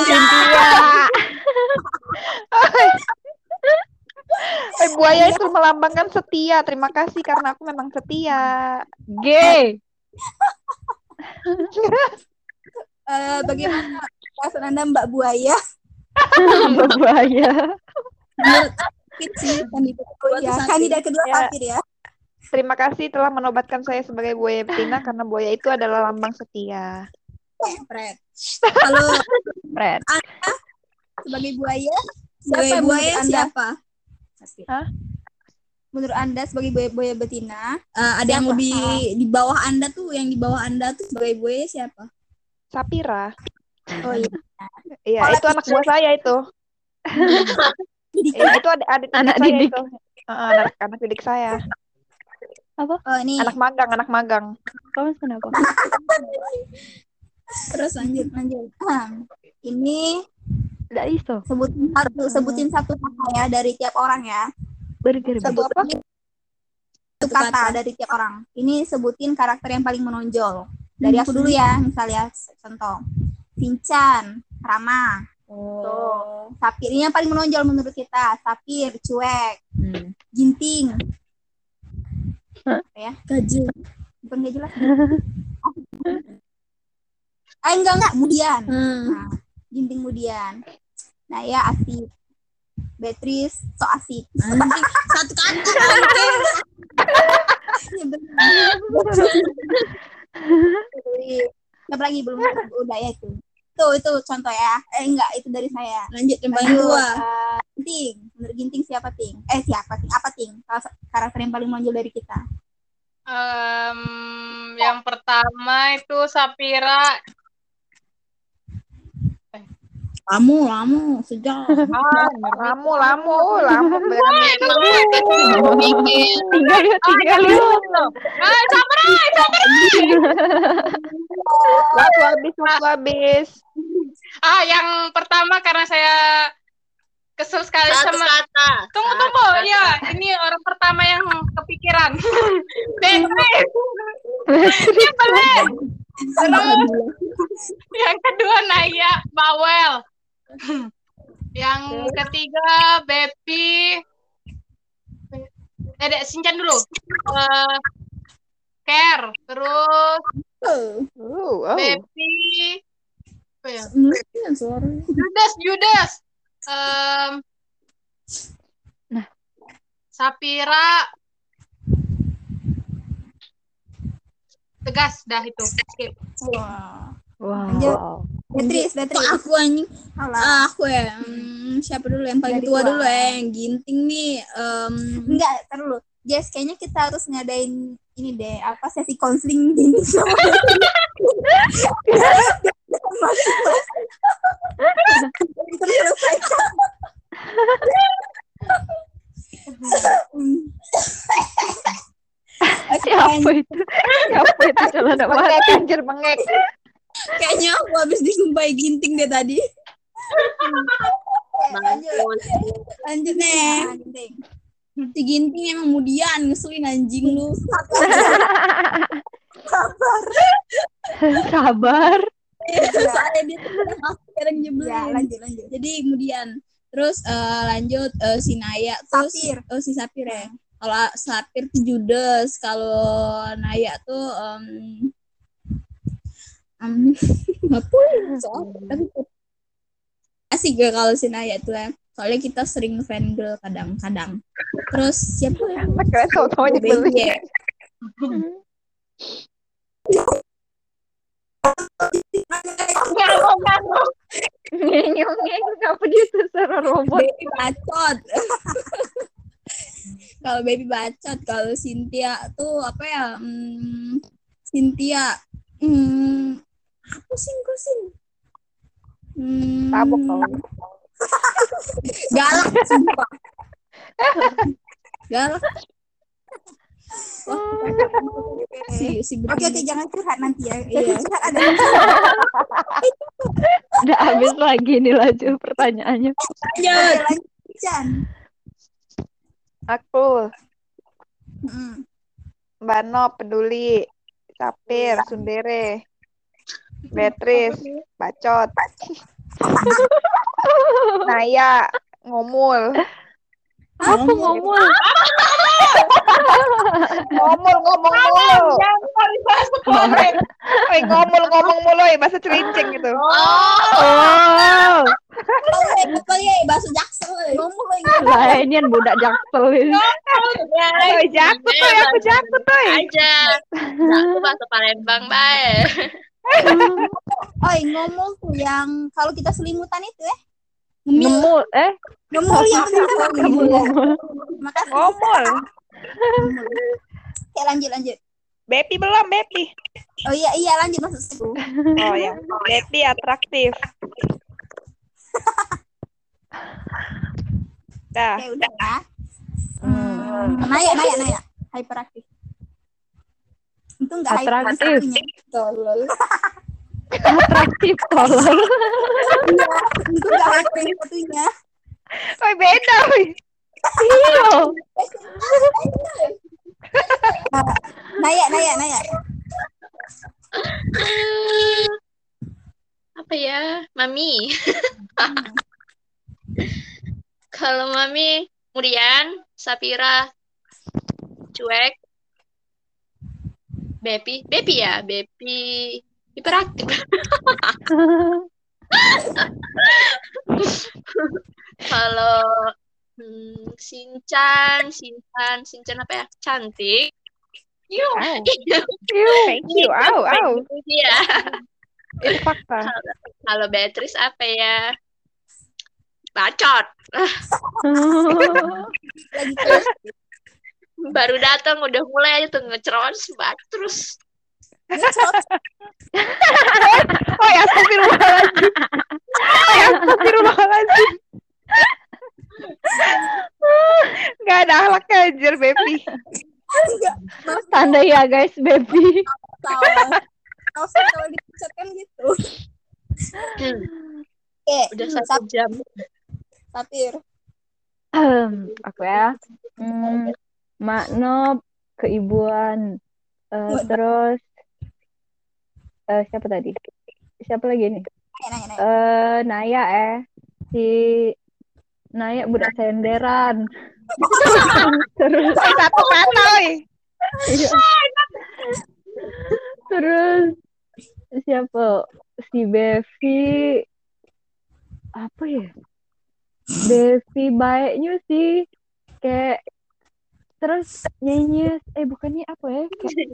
Buaya itu melambangkan setia. Terima kasih karena aku memang setia. Gay. Bagaimana perasaan Anda Mbak Buaya? Mbak Buaya. Kandidat kedua Sapir ya. Terima kasih telah menobatkan saya sebagai buaya betina karena buaya itu adalah lambang setia. Fred. Halo Fred. Anda sebagai buaya? Siapa buaya siapa? Hah? Menurut Anda sebagai buaya betina, ada yang lebih di bawah Anda tuh, yang di bawah Anda tuh sebagai buaya siapa? Sapira. Oh iya. Iya, itu anak buah saya itu. Itu anak didik saya itu. Anak didik saya. Apa? Oh, ini. Anak magang. Kamu kenapa? Terus lanjut. Ini enggak iso. Sebutin satu kata ya dari tiap orang ya. Satu apa? Satu kata dari tiap orang. Ini sebutin karakter yang paling menonjol. Dari aku dulu ya, misalnya contoh. Sinchan, ramah. Sapir, ini yang paling menonjol menurut kita. Sapir, cuek. Ginting. Ya, gajah. Bukan gak jelas. Enggak, Mudian. Nah, Ginting Mudian. Nah, ya asik. Beatrice so asik. Anjing, satu kata anjing. Siapa lagi belum udah ya itu. Itu contoh ya. Enggak, itu dari saya. Lanjut yang paling tua. Ginting. Menurut Ginting siapa, Ting? Siapa, Ting? Apa, Ting? Karakter yang paling menonjol dari kita. Yang pertama itu Sapira. Lamu sejak. Lamu Tinggal yuk. Waktu habis. Yang pertama karena saya kesel sekali Satu sama kata. Tunggu. Ya, ini orang pertama yang kepikiran. Yang kedua Naya Bawel. Yang ketiga Bepi. Sincan dulu. Care. Terus Bepi. Apa ya? Judas. Sapira. Tegas dah itu. Skip. Wow. Beatrice. Aku anjing. Aku ya. Siapa dulu yang paling tua dulu ya? Yang Ginting nih. Enggak, tar dulu. Jess, kayaknya kita harus ngadain ini deh, sesi konseling Ginting sama Siapa itu celana Bengek, anjir, bengek. Kayaknya aku habis disumpahi Ginting deh tadi. Lanjut nih. Si Ginting emang Mudian, ngeselin anjing lu. Sabar. Soalnya dia sekarang nyebelin. Ya, lanjut. Jadi Mudian. Terus lanjut si Naya, terus si Sapir ya. Kalau Sapir tuh Judas, kalau Naya tuh tapi asik gak kalau si Naya tuh ya. Soalnya kita sering fangirl kadang-kadang. Terus siapa ya? Baby ya. Ngeng kenapa dia suara robot? Baby bacot. Kalau Baby bacot, kalau Cynthia tuh apa ya? Cynthia apa sih? Tabok kau. Galak sumpah. Galak. Oke, jangan curhat nanti ya. Curhat ada. Udah habis lagi nih laju pertanyaannya. Lanjut. Aku. Bano, Peduli, Sapir, Sundere, Beatrice, Bacot, Naya, Ngomul. Apa ngomul? Ngomul ngomong mulu. Ngomong mulu ya, bahasa cerincing gitu. Oh. Bahasa Jaksel. Ngomul Lah ini kan budak Jaksel ini. Jakut tuh, aku jakut tuh. Aja. Aku bahasa Palembang bae. Ngomul tuh yang kalau kita selimutan itu ya. Ngemul Ngomul yang benar. Makasih. Ngomul. Oke, lanjut. Bepi belum, Bepi. Oh iya lanjut maksudku. Oh ya, Bepi atraktif. Dah. Oke, udah ya. Naya. Hyperaktif. Itu enggak Atraktif. Tolol. Atraktif tolol. Itu enggak hyperaktif fotonya. Oh, beda, wih. Iya. Naya. Apa ya? Mami. Kalau Mami, Murian, Sapira, Cuek, Bepi ya, Bepi, Hiperaktif. Kalau Shinchan apa ya? Cantik. Au. Thank you. Au. Itu dia. Itu fakta. Kalau Beatrice apa ya? Bacot. Lagi kelas. Baru datang udah mulai aja tuh ngecerons bacot terus. Oh ya, astagfirullahaladzim. Gak ada akhlaknya anjir, Bepi. Tanda ya guys, Bepi. Tahu kalau dipecat kan gitu. Oke, Udah 1 jam. Sapir. Aku ya. Makna keibuan. Terus siapa tadi? Siapa lagi nih? Naya si Naya budak senderan. Terus satu kata Terus siapa? Si Bevi apa ya? Bevi baiknya sih kayak terus nyanyi bukannya apa ya?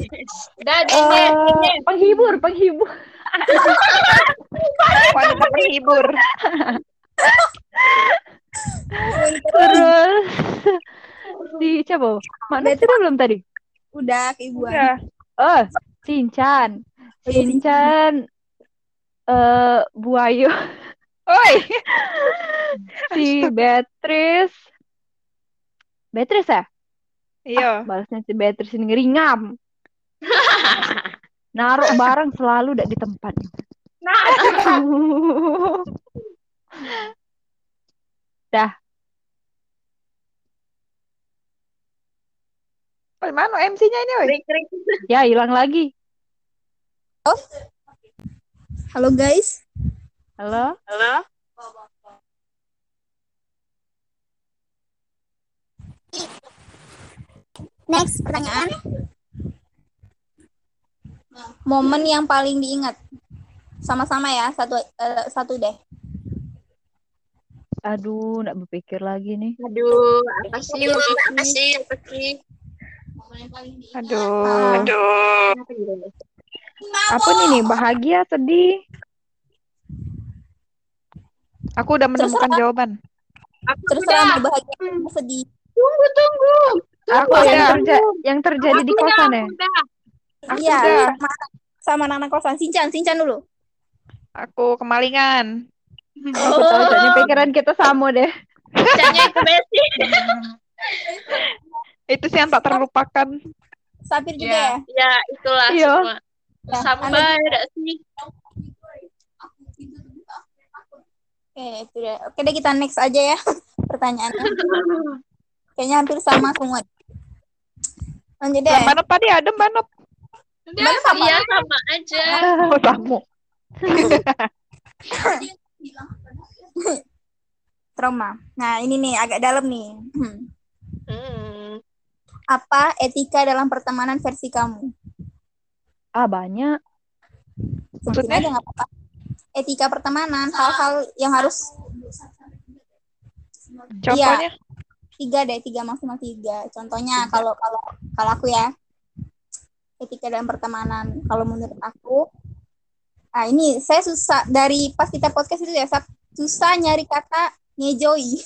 Kayak penghibur. Wanita penghibur. Terus si siapa? Mana sudah belum tadi? Udah keibuan. Udah. Shinchan. Buayo. Oi. Si Beatrice ya? Iya. Balasnya si Beatrice ini ngeringam. Naruh barang selalu di tempatnya. Dah. Mana MC-nya ini, woi? Ya, hilang lagi. Halo guys. Halo. Next pertanyaan. Momen yang paling diingat. Sama-sama ya, satu deh. Aduh, nggak berpikir lagi nih. Aduh, apa sih? Aduh. Apa nih? Bahagia, sedih? Aku udah menemukan jawaban. Terserah mau bahagia atau sedih. Tunggu. Aku yang terjadi di kosan ya? Iya, sama anak kosan. Shinchan dulu. Aku kemalingan. Aku tahu jadinya pikiran kita sama deh. Shinchannya itu Besti. Itu sih yang tak terlupakan. Sapir juga ya? Ya, itulah Iya. semua. Sama ada sih. Oke, itu deh. Oke deh, kita next aja ya pertanyaannya. Kayaknya hampir sama semua. Lanjut deh. Mana tadi ada mana? Iya, sama aja. Oh, sama. Trauma. Nah, ini nih agak dalam nih. Hmm. Apa etika dalam pertemanan versi kamu? Banyak. Sebutin aja nggak apa-apa. Etika pertemanan, hal-hal yang harus. Contohnya? Iya, 3 maksimal 3. Contohnya kalau aku ya, etika dalam pertemanan. Kalau menurut aku, ini saya susah dari pas kita podcast itu ya, susah nyari kata ngejoi.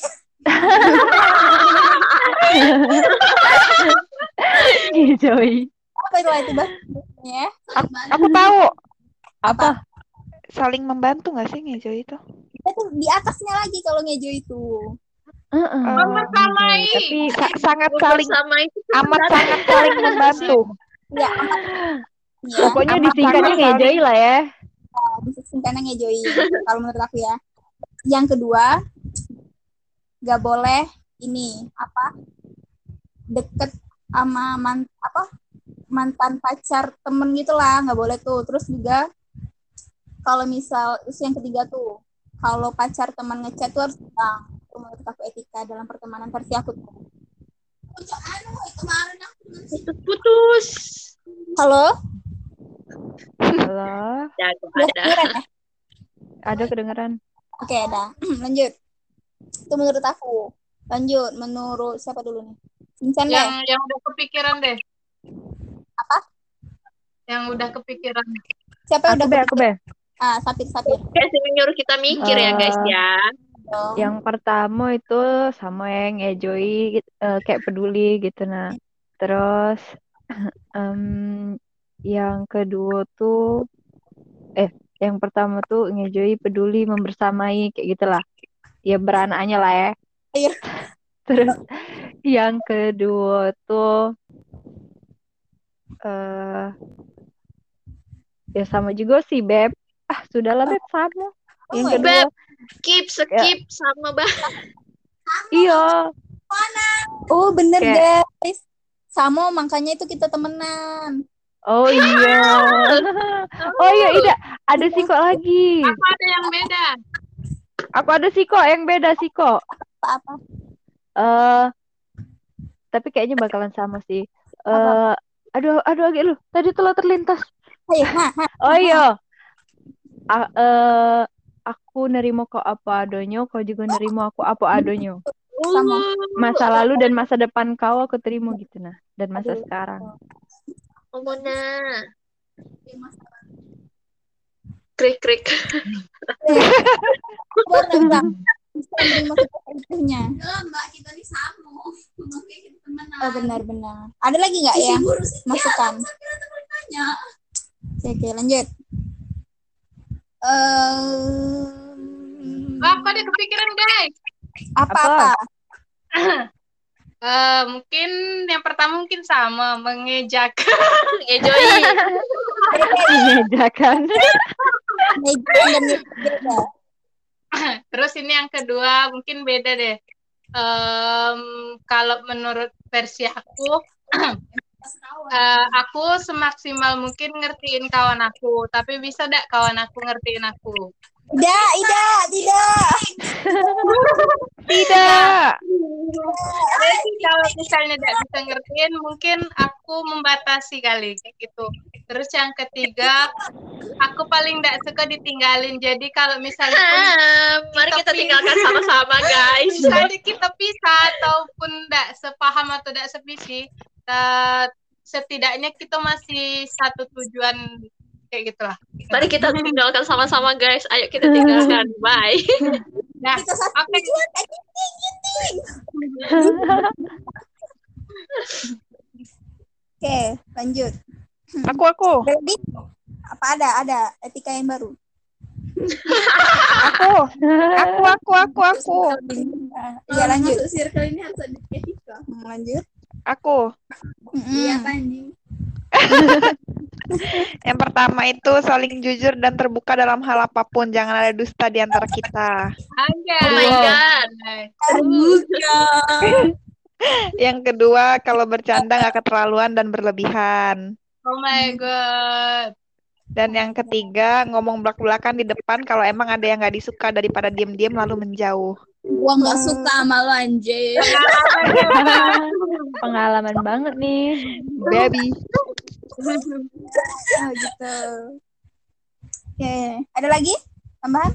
Ngejoi. Apa itu bahasanya? Aku tahu. Apa? Saling membantu nggak sih ngejo itu? Itu di atasnya lagi kalau ngejo itu. Tapi sangat saling Sama itu sangat saling membantu. Ya, amat. Ya, Pokoknya disingkatnya ngejoi lah ya. disingkatnya ngejoi. Kalau menurut aku ya. Yang kedua, nggak boleh deket sama mantan pacar temen gitulah, nggak boleh tuh. Terus juga kalau yang ketiga tuh, kalau pacar teman ngechat tuh harus bilang. Itu menurut aku etika dalam pertemanan versi aku tuh. putus. Halo? Halo, Jago Udah ada. kedengeran ya? ada kedengeran. Oke, ada. Lanjut. Itu menurut aku. Lanjut, menurut siapa dulu nih? Vincent deh. Yang udah kepikiran deh. Apa? Yang udah kepikiran. Siapa yang udah Aku be. Sapir. Kasih menyuruh kita mikir ya guys ya. Yang pertama itu sama yang enjoy kayak peduli gitu nah. Terus yang kedua tuh yang pertama tuh enjoy peduli membersamai kayak gitulah. Ya beranaknya lah ya. Iya. Terus yang kedua tuh ya sama juga sih Beb. Sudahlah Beb sama. Yang kedua skip sama banget. iya. Oh bener Kayak- guys. Sama makanya itu kita temenan. Oh iya. Oh iya Ida, ada Siko lagi. Apa ada yang beda? Aku ada Siko yang beda Siko. Apa? Tapi kayaknya bakalan sama sih. Aduh agak lu. Tadi telah terlintas. Ayo, Oh iya. Aku nerimo kau apa adonyo, kau juga nerimo aku apa adonyo. Sama. Masa lalu dan masa depan kau aku terima gitu nah. Dan masa sekarang. Mona. Krik. Bisa menerima kita utuhnya. Mbak, kita nih sama. Oh benar. Ada lagi nggak ya masukan? Oke, lanjut. Apa ada kepikiran guys? Apa? Mungkin yang pertama mungkin sama mengejak. Enjoy. Mengejakan. Terus ini yang kedua mungkin beda deh. Kalau menurut versi aku, aku semaksimal mungkin ngertiin kawan aku, tapi bisa gak kawan aku ngertiin aku? Tidak. Jadi kalau misalnya tidak bisa ngertiin, mungkin aku membatasi kali kayak gitu. Terus yang ketiga, aku paling tidak suka ditinggalin. Jadi kalau misalnya mari kita tinggalkan sama-sama guys. misalnya kita pisah ataupun tidak sepaham atau tidak sevisi, setidaknya kita masih satu tujuan kayak gitulah. Mari kita tinggalkan sama-sama guys. Ayo kita tinggalkan. Bye. Nah, Kita satu tujuan. Oke, lanjut. Aku. Ready? Apa ada etika yang baru? Aku. Iya, lanjut. Masuk circle ini harus ada etika. Lanjut. Aku. Iya anjing. Yang pertama itu saling jujur dan terbuka dalam hal apapun. Jangan ada dusta di antara kita. Anjay. Oh my god. Yang kedua, kalau bercanda nggak keterlaluan dan berlebihan. Oh my god. Dan yang ketiga, ngomong belak-belakan di depan kalau emang ada yang nggak disuka daripada diem-diem lalu menjauh. Gua nggak suka sama lo anjir. Pengalaman banget nih. Baby. Gitu. Oke, ada lagi tambahan?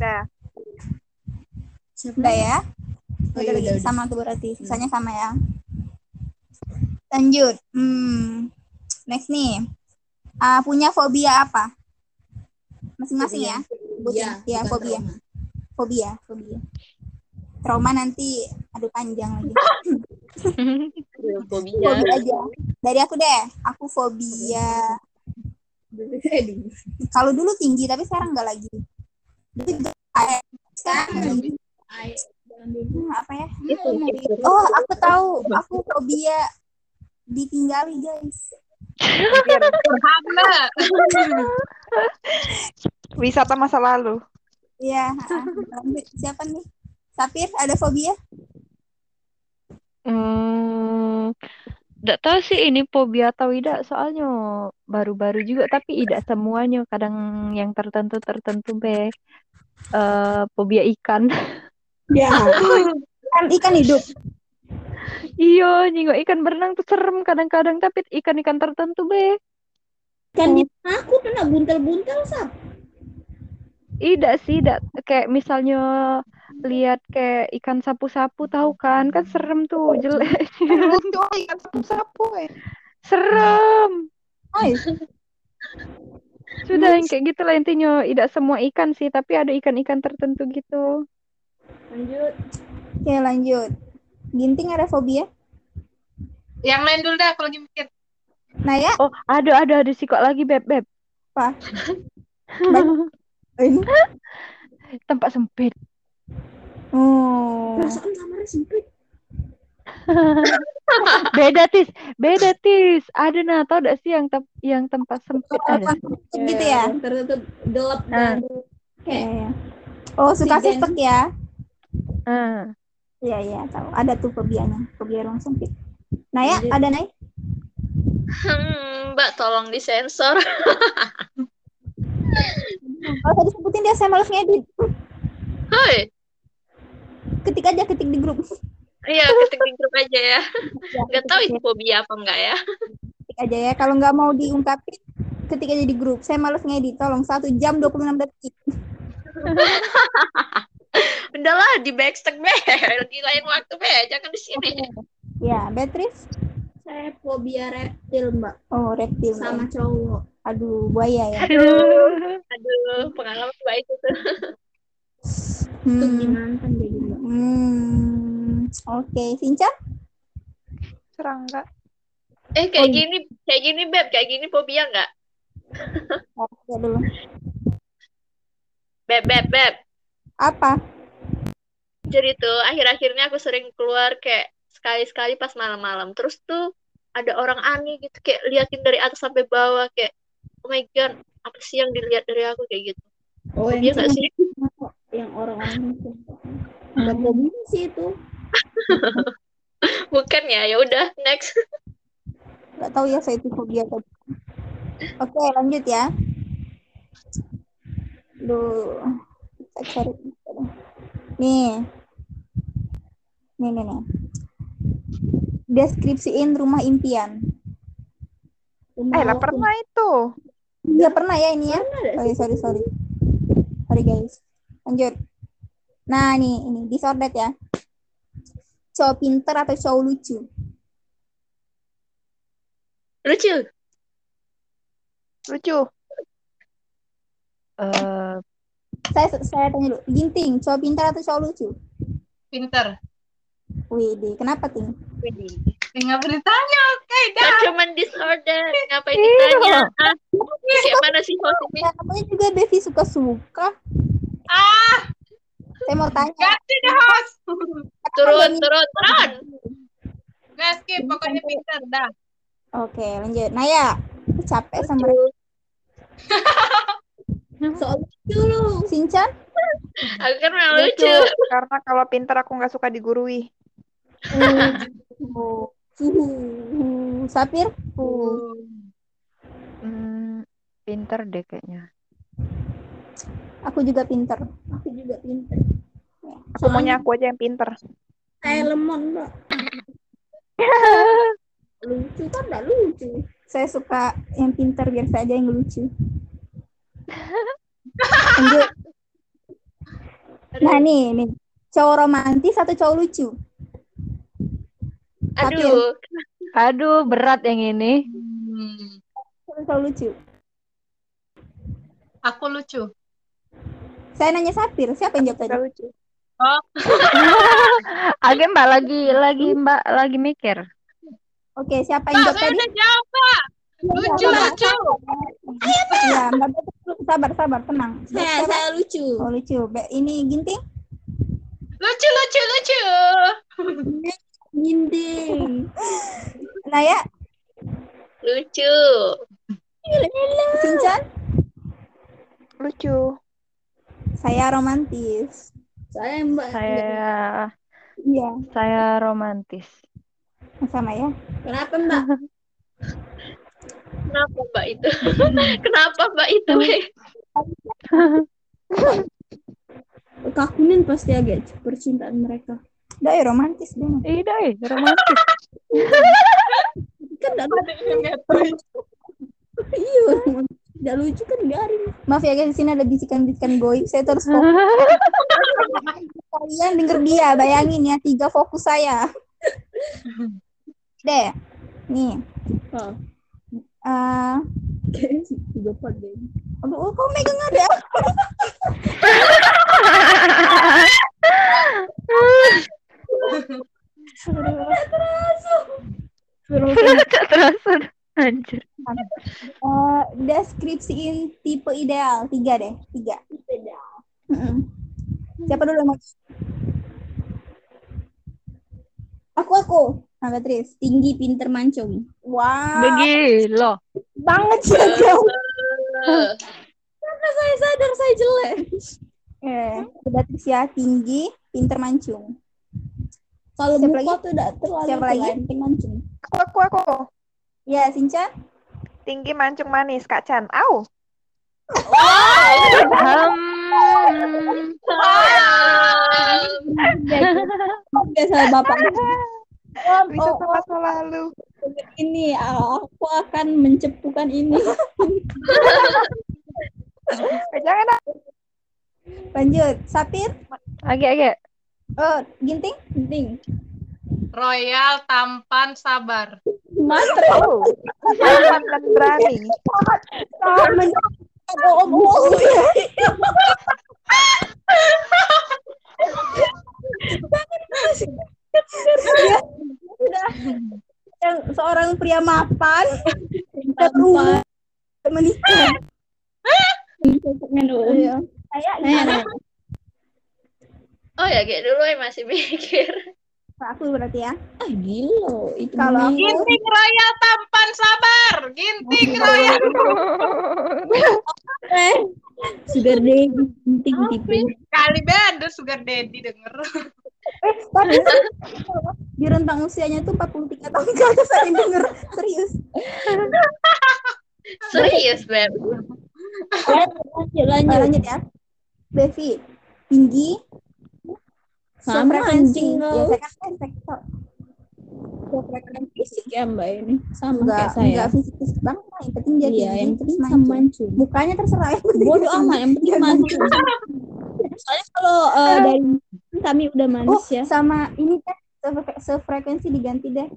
Sudah ya. Udah lagi sama tuh berarti. Sisanya sama ya. Lanjut. Next nih. Punya fobia apa? Masing-masing ya. Ya, fobia. Trauma nanti panjang lagi. Fobia aja. Dari aku deh. Aku fobia. Kalau dulu tinggi tapi sekarang enggak lagi. Sekarang apa ya? Oh, aku tahu. Aku fobia ditinggali, guys. Wisata masa lalu. Iya. Siapa nih? Sapir, ada fobia? Nggak tahu sih ini fobia atau tidak, soalnya baru-baru juga, tapi tidak semuanya. Kadang yang tertentu be. Fobia ikan. Ya. Ikan hidup. Iya, nyingok ikan berenang tuh serem kadang-kadang, tapi ikan-ikan tertentu be. Kan di aku tuh nak buntel-buntel sap. Tidak sih, kayak misalnya lihat kayak ikan sapu-sapu tahu kan serem tuh, jelek. Lucu ikan sapu-sapu. Serem. Ay, Sudah yang kayak gitu lah intinya. Tidak semua ikan sih, tapi ada ikan-ikan tertentu gitu. lanjut. Oke, lanjut. Ginting ada fobia? Yang lain dulu dah, aku lagi mikir. Naya, Oh, ada sih kok lagi Beb. apa? Ini. Tempat sempit. Oh. Perasaan kamarnya sempit. Beda tis. Ada nah, tau gak sih yang tempat sempit ada? Gitu ya? Tertutup gelap dan kayak. Oh, suka sipet ya? Iya, tahu. Ada tuh fobianya, fobia ruang sempit. Naya, ada Naya? Mbak, tolong disensor. Kalau tadi sebutin dia, saya males ngedit. Hai. Ketik di grup. Iya, ketik di grup aja ya. Nggak tahu itu fobia apa enggak ya. Ketik aja ya. Kalau nggak mau diungkapin, ketik aja di grup. Saya males ngedit. Tolong 1 jam 26 detik. Udahlah, di backstack be. Di lain waktu be. Jangan di sini. Ya, Beatrice? Saya fobia reptil, Mbak. Oh, reptil. Sama cowok. Aduh, buaya ya. Aduh, pengalaman Mbak itu tuh. Itu gimana kan jadi, Mbak? Oke, Sinca? Serangga. Kayak gini Beb, kayak gini fobia nggak? Oke dulu. Beb. Apa? Jadi tuh akhir-akhirnya aku sering keluar kayak sekali-sekali pas malam-malam. Terus tuh ada orang aneh gitu kayak liatin dari atas sampai bawah kayak oh my god, apa sih yang dilihat dari aku kayak gitu. Oh, Fobia nggak sih? yang orang-orang itu. Enggak fobia sih itu. Bukan ya udah next. Nggak tahu ya saya itu fobia atau bukan. Oke, lanjut ya. Duh, kita cari. Nih. Deskripsiin rumah impian. Lah pernah itu. Iya pernah ya ini ya. Sorry. Sorry guys. Lanjut. Nah ini disordet ya. Cowok pinter atau cowok lucu? Lucu. Saya tanya dulu. Ginting, cowok pinter atau cowok lucu? Pinter. Widih, kenapa Ting? Nggak boleh tanya, oke dah. Cuman disorder, ngapain ditanya? Kayak mana sih host ini? Namanya juga Devi suka-suka. Saya mau tanya. Ganti deh host. Turun. Nggak skip, pokoknya pinter dah. Oke, lanjut. Naya, aku capek sama Soal lucu lu. Sinchan? Aku kan memang lucu. Karena kalau pintar aku nggak suka digurui. Sapir? Pinter deh kayaknya. Aku juga pinter. Semuanya aku aja yang pinter. Kayak lemon, Mbak. Lucu kan enggak lucu. Saya suka yang pinter biar saya aja yang lucu. Lanjut. Nah nih. Cowok romantis atau cowok lucu? Aduh, berat yang ini. Cowok lucu. Aku lucu. Saya nanya Sapir, siapa yang jawab tadi? Lucu. Oh, Agak Mbak lagi mikir. Oke, siapa yang jawab saya tadi? udah jawab, Pak. Lucu. Ya, Mbak Betul, sabar, tenang. Saya lucu. Oh, lucu. Ini Ginting? Lucu. Ginting. Naya? Lucu. Sinchan? Lucu. Saya romantis. Saya Mbak. Iya, Saya romantis. sama ya. Kenapa, Mbak? Kenapa Mbak itu? Kakunin pasti agak percintaan mereka. Dai romantis deh. Romantis. Kan enggak Iya, tidak lucu kan garing. Maaf ya guys, di sini ada bisikan-bisikan goib. Saya terus fokus. Kalian denger dia, bayangin ya, 3 fokus saya. Deh, nih. Tiga part deh. Aduh, kok megang ada? Terasa. Anjir. Deskripsiin tipe ideal. 3 deh, 3. Tipe ideal. Siapa dulu yang mau? Aku. Nah, Beatrice. Tinggi, pinter, mancung. Wow. Begilo. Banget sih. Karena saya sadar saya jelek. Beatrice ya, tinggi, pinter, mancung. Kalau Siapa muka lagi? tuh udah terlalu Siapa lagi? enteng, mancung. Aku. Ya, Sinca. Tinggi mancung manis, Kak Chan. Au. Biasa Bapak. Bisa ke masa lalu. Ini aku akan mencepukan ini. Jangan. Lanjut, Sapir. Agak. Oh, Ginting. Royal, tampan, sabar. Mantap. Tampan dan berani. Yang seorang pria mapan berumur menikah. Oh ya, kayak dulu ya masih mikir. Aku berarti ya. Gila. Itu Kalau aku Ginting royal, tampan, sabar. Ginting royal. sugar daddy penting tipe. Kali ada sugar daddy denger. tapi di rentang usianya tuh 43 tahun ke atas saya denger serius. Serius, Beb. Lanjut ya. Bevi, tinggi, Sama sefrekuensi. anjing Ya, lo. saya kan sefrekuensi Fisik ya Mbak ini. Sama enggak kayak saya. enggak fisik banget, yang penting dia Iya, tinggi, yang terus penting sama mancung. mukanya terserah, yang penting Bodoh dia tinggi. amat, yang penting mancung. Soalnya kalau dari kami udah manis ya. Sama ini kan sefrekuensi diganti deh.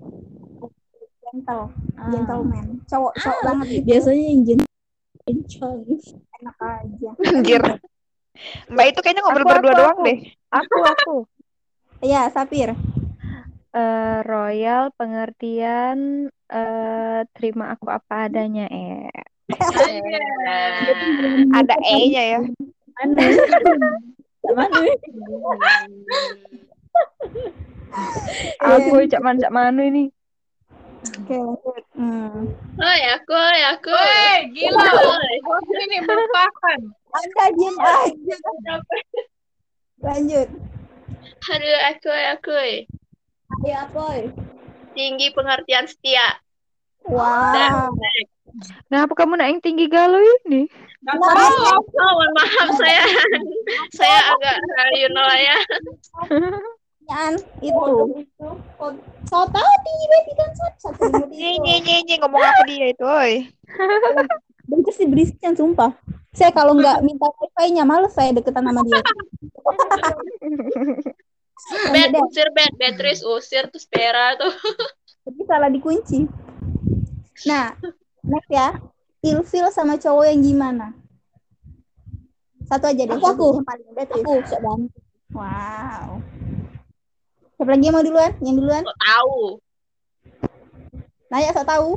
Gentleman. Cowok banget gitu. Biasanya yang jencong. Enak aja. Anjir. Mbak itu kayaknya ngobrol berdua doang deh. Aku. Iya, Sapir. Royal, pengertian, terima aku apa adanya. Ada E-nya ya. Aku cak manu ini. Oke, lanjut. Aku. Woi, gila. Ini melupakan. Anda diam aja. Lanjut. Aduh, aku. Ya, boy. Tinggi, pengertian, setia. Wow. Kenapa kamu naik tinggi galau ini? Oh, mohon maaf saya agak ya. Pertanyaan itu. So tahu tinggi baby kan satu Nye ngomong apa dia itu, oi. Bener sih berisik sumpah. Saya kalau nggak minta wifi-nya males saya deketan sama dia. Beatrice usir tuh Spera tuh. Tapi salah dikunci. Nah, next ya. Ilfil sama cowok yang gimana? Satu aja deh. Aku. Yang paling Beatrice. Aku sok banget. Wow. Siapa lagi yang mau duluan? Yang duluan? Kok tahu? Naya sok tahu.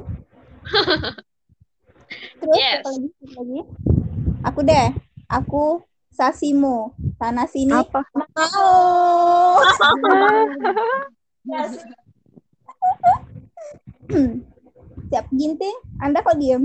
Terus Yes. siapa lagi? Aku deh. Aku Sasimo. Sana sini. Apa? Mau. Siap Ginting. Anda kok diem?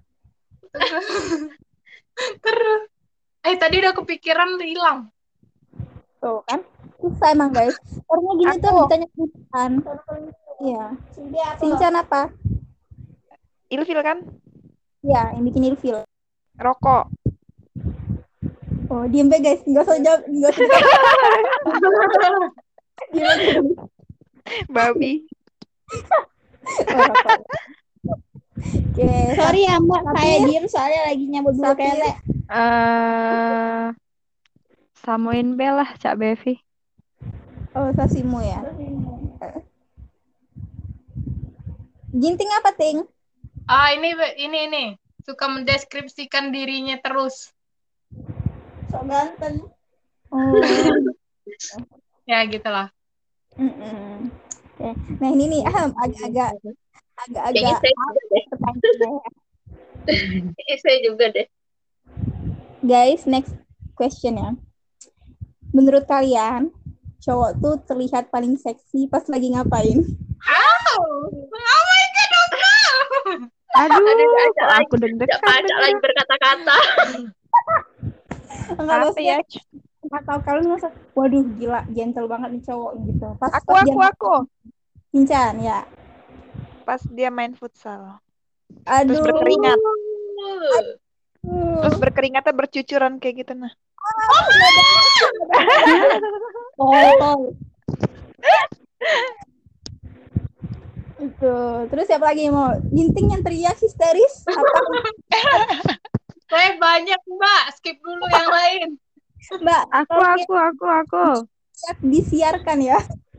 Terus. Tadi udah kepikiran hilang. Tuh kan. Susah emang guys. Orangnya gini tuh ditanya Sincan. Iya. Sincan apa? Ilfil kan? Iya, yang bikin ilfil. Rokok. Oh, diem be guys. Enggak usah jawab. Enggak usah jawab. Diem aja. Babi. Oh, rokok. Oke, Sorry ya Mbak, saya Sapir. diem soalnya lagi nyabut bulu Sapir. kele. Samuin B lah, Cak Bevi. Oh, Sasimu ya. Ginting apa, Ting? Ini suka mendeskripsikan dirinya terus. Sok ganteng. Ya gitulah. Oke. Nah, ini nih agak-agak Kayaknya saya juga deh. Kayaknya saya juga deh. Guys, next question ya. Menurut kalian, cowok tuh terlihat paling seksi pas lagi ngapain? Oh my god, Aduh, Ada kok aku deg-degan Ajak lagi berkata-kata. Enggak, apa maksudnya ya? nggak tahu kalian merasa, waduh gila, gentle banget nih cowok gitu. Aku. Pincan ya. Pas dia main futsal. Aduh. Terus berkeringat. Terus berkeringatnya bercucuran kayak gitu nah. Itu. Terus siapa lagi yang mau? Ginting yang teriak histeris? Apa? Saya banyak Mbak, skip dulu yang lain. Mbak, Aku. disiarkan ya.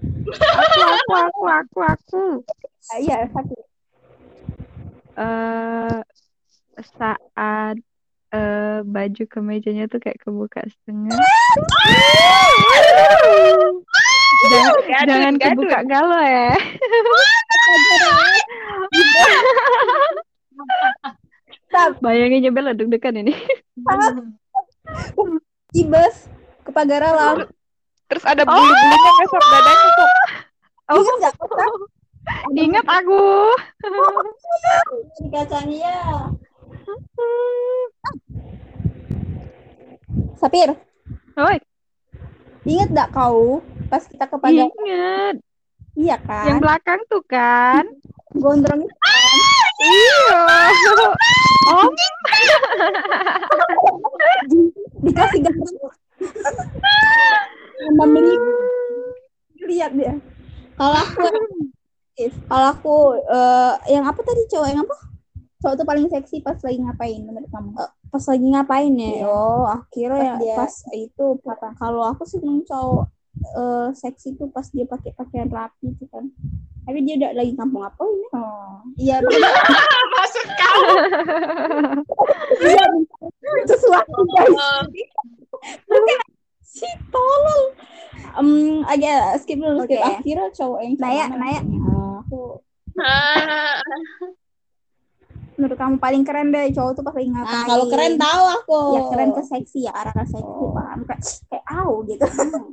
Aku. Iya, satu. Saat baju kemejanya tuh kayak kebuka setengah. Jangan kebuka galo ya. Bayangin Bella deg-degan ini. Ibes ke pagar alam. Terus ada bulu-bulunya ngesok dadanya kok. Ingat nggak? Ingat aku. Di kacanya. Sapir. Oi. Ingat nggak kau pas kita ke pagar? Ingat. Iya kan? Yang belakang tuh kan. Gondrong itu kan? Iya. Om. Dikasih gambar. Membeli. Lihat dia. Kalau aku yang apa tadi cowok yang apa? Cowok tuh paling seksi pas lagi ngapain menurut kamu? Pas lagi ngapain ya? Oh, akhirnya Pas pas itu apa? Kalau aku sih cowok seksi tuh pas dia pakai pakaian rapi gitu kan. Tapi dia udah lagi kampung apa ini? Oh, iya. Maksud kamu? Iya, sesuatu guys. Bukan si tolol. Agak skip dulu. Oke. Akhirnya cowok yang Naya. Aku menurut kamu paling keren deh cowok tuh pas lagi ngapain? Nah, kalau keren tahu aku. Ya keren ke seksi ya, arah ke seksi paham kayak au gitu.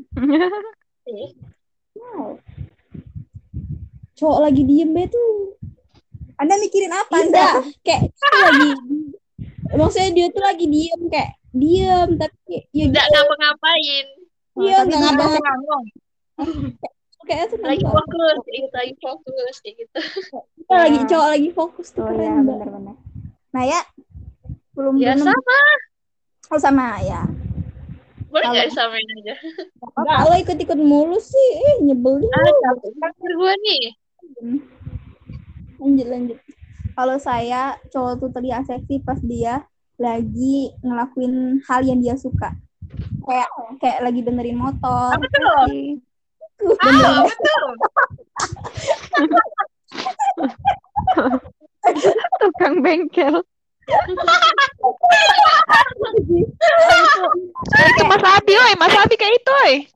Wow. Cowok lagi diem be tuh. Anda mikirin apa Anda? Kayak lagi maksudnya dia tuh lagi diem kayak diem tapi ya Nggak ngapa-ngapain. dia nggak ngapa-ngapain. Kayak tuh Lagi fokus kayak gitu. lagi cowok lagi fokus tuh. Oh keren, ya, Mbak. benar-benar. Nah ya belum Ya sama. Oh sama ya. Boleh nggak disamain aja? Enggak, lo ikut-ikut mulu sih. Nyebelin. Capek gue nih. Lanjut. Kalau saya cowok tuh terlihat seksi pas dia lagi ngelakuin hal yang dia suka. Kayak lagi benerin motor. Apa tuh? Betul. Tukang bengkel. Itu Mas Abi, Mas Abi kayak itu,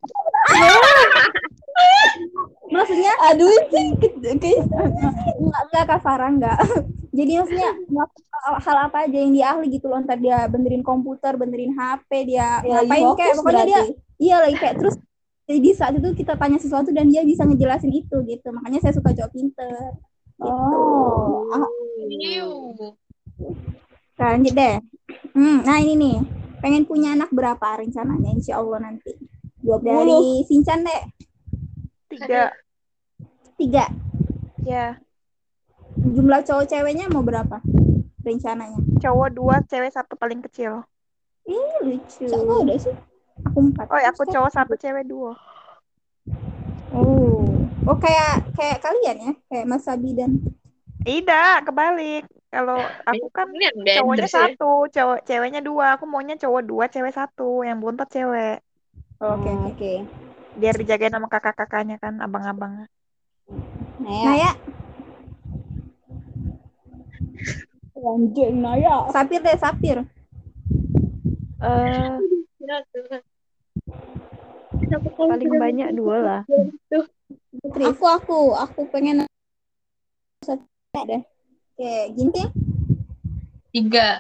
Maksudnya aduh sih enggak Kak Farah enggak. Jadi maksudnya hal apa aja yang dia ahli gitu loh, entar dia benerin komputer, benerin HP, dia ngapain kayak pokoknya dia iya lagi kayak terus jadi di saat itu kita tanya sesuatu dan dia bisa ngejelasin itu gitu. Makanya saya suka cowok pinter. Gitu. Lanjut deh. Nah ini nih, pengen punya anak berapa rencananya insya Allah nanti? 20. Dari Sincan deh. 3. Ya. Jumlah cowok ceweknya mau berapa rencananya? Cowok 2, cewek 1 paling kecil. Lucu. Siapa udah sih? Aku 4. Oh, aku cowok 1, cewek 2. Oh kayak kalian ya, kayak Mas Sabi dan. Tidak, kebalik. Kalau aku kan Ini cowoknya Beatrice ya. satu, ceweknya dua. Aku maunya cowok dua, cewek satu. Yang bontot cewek. Oke. Biar dijagain sama kakak-kakaknya kan, abang-abang. Naya. Anjing Naya. Sapir deh, Sapir. Ya, Tuhan. Kenapa kamu Paling tidak banyak dua lah. Aku pengen deh. Oke, Ginting. 3.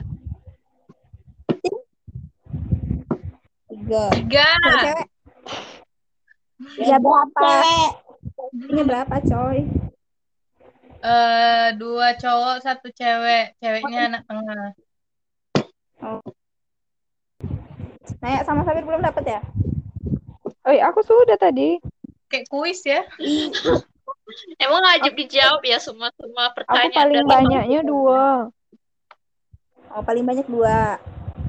3. 3. Cewek. Ya berapa? Ini berapa, coy? 2 cowok, 1 cewek. Ceweknya anak tengah. Naya sama Sapir belum dapat ya? Oh, aku sudah tadi. Kayak kuis ya. Emang wajib dijawab ya semua Aku pertanyaan. paling dari banyaknya kamu. 2. Oh, paling banyak 2.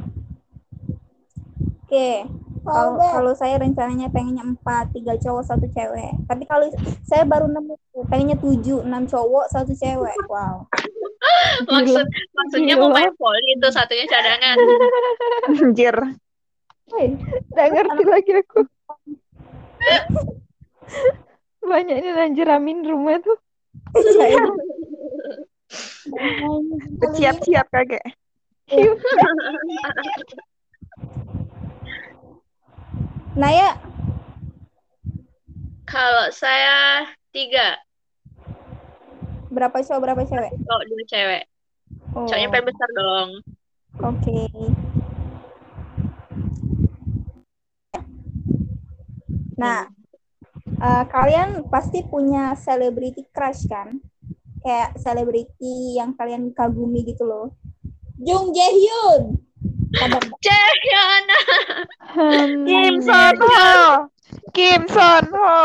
Oke. Kalau saya rencananya pengennya 4, 3 cowok, 1 cewek. Tapi kalau saya baru nemu pengennya 7, 6 cowok, 1 cewek. Wow. Maksudnya mau main volley itu satunya cadangan. Anjir. Nggak ngerti lagi aku. Banyak ini anjir amin rumah tuh. Siap-siap kagak. Naya. Kalau saya 3. Berapa cowok, berapa cewek? Cowok 2 cewek. Cowoknya paling besar dong. Oke. Nah, kalian pasti punya celebrity crush kan? Kayak selebriti yang kalian kagumi gitu loh. Jung Jae Hyun. Jaehyun. Kim Son Ho. Kim Son Ho.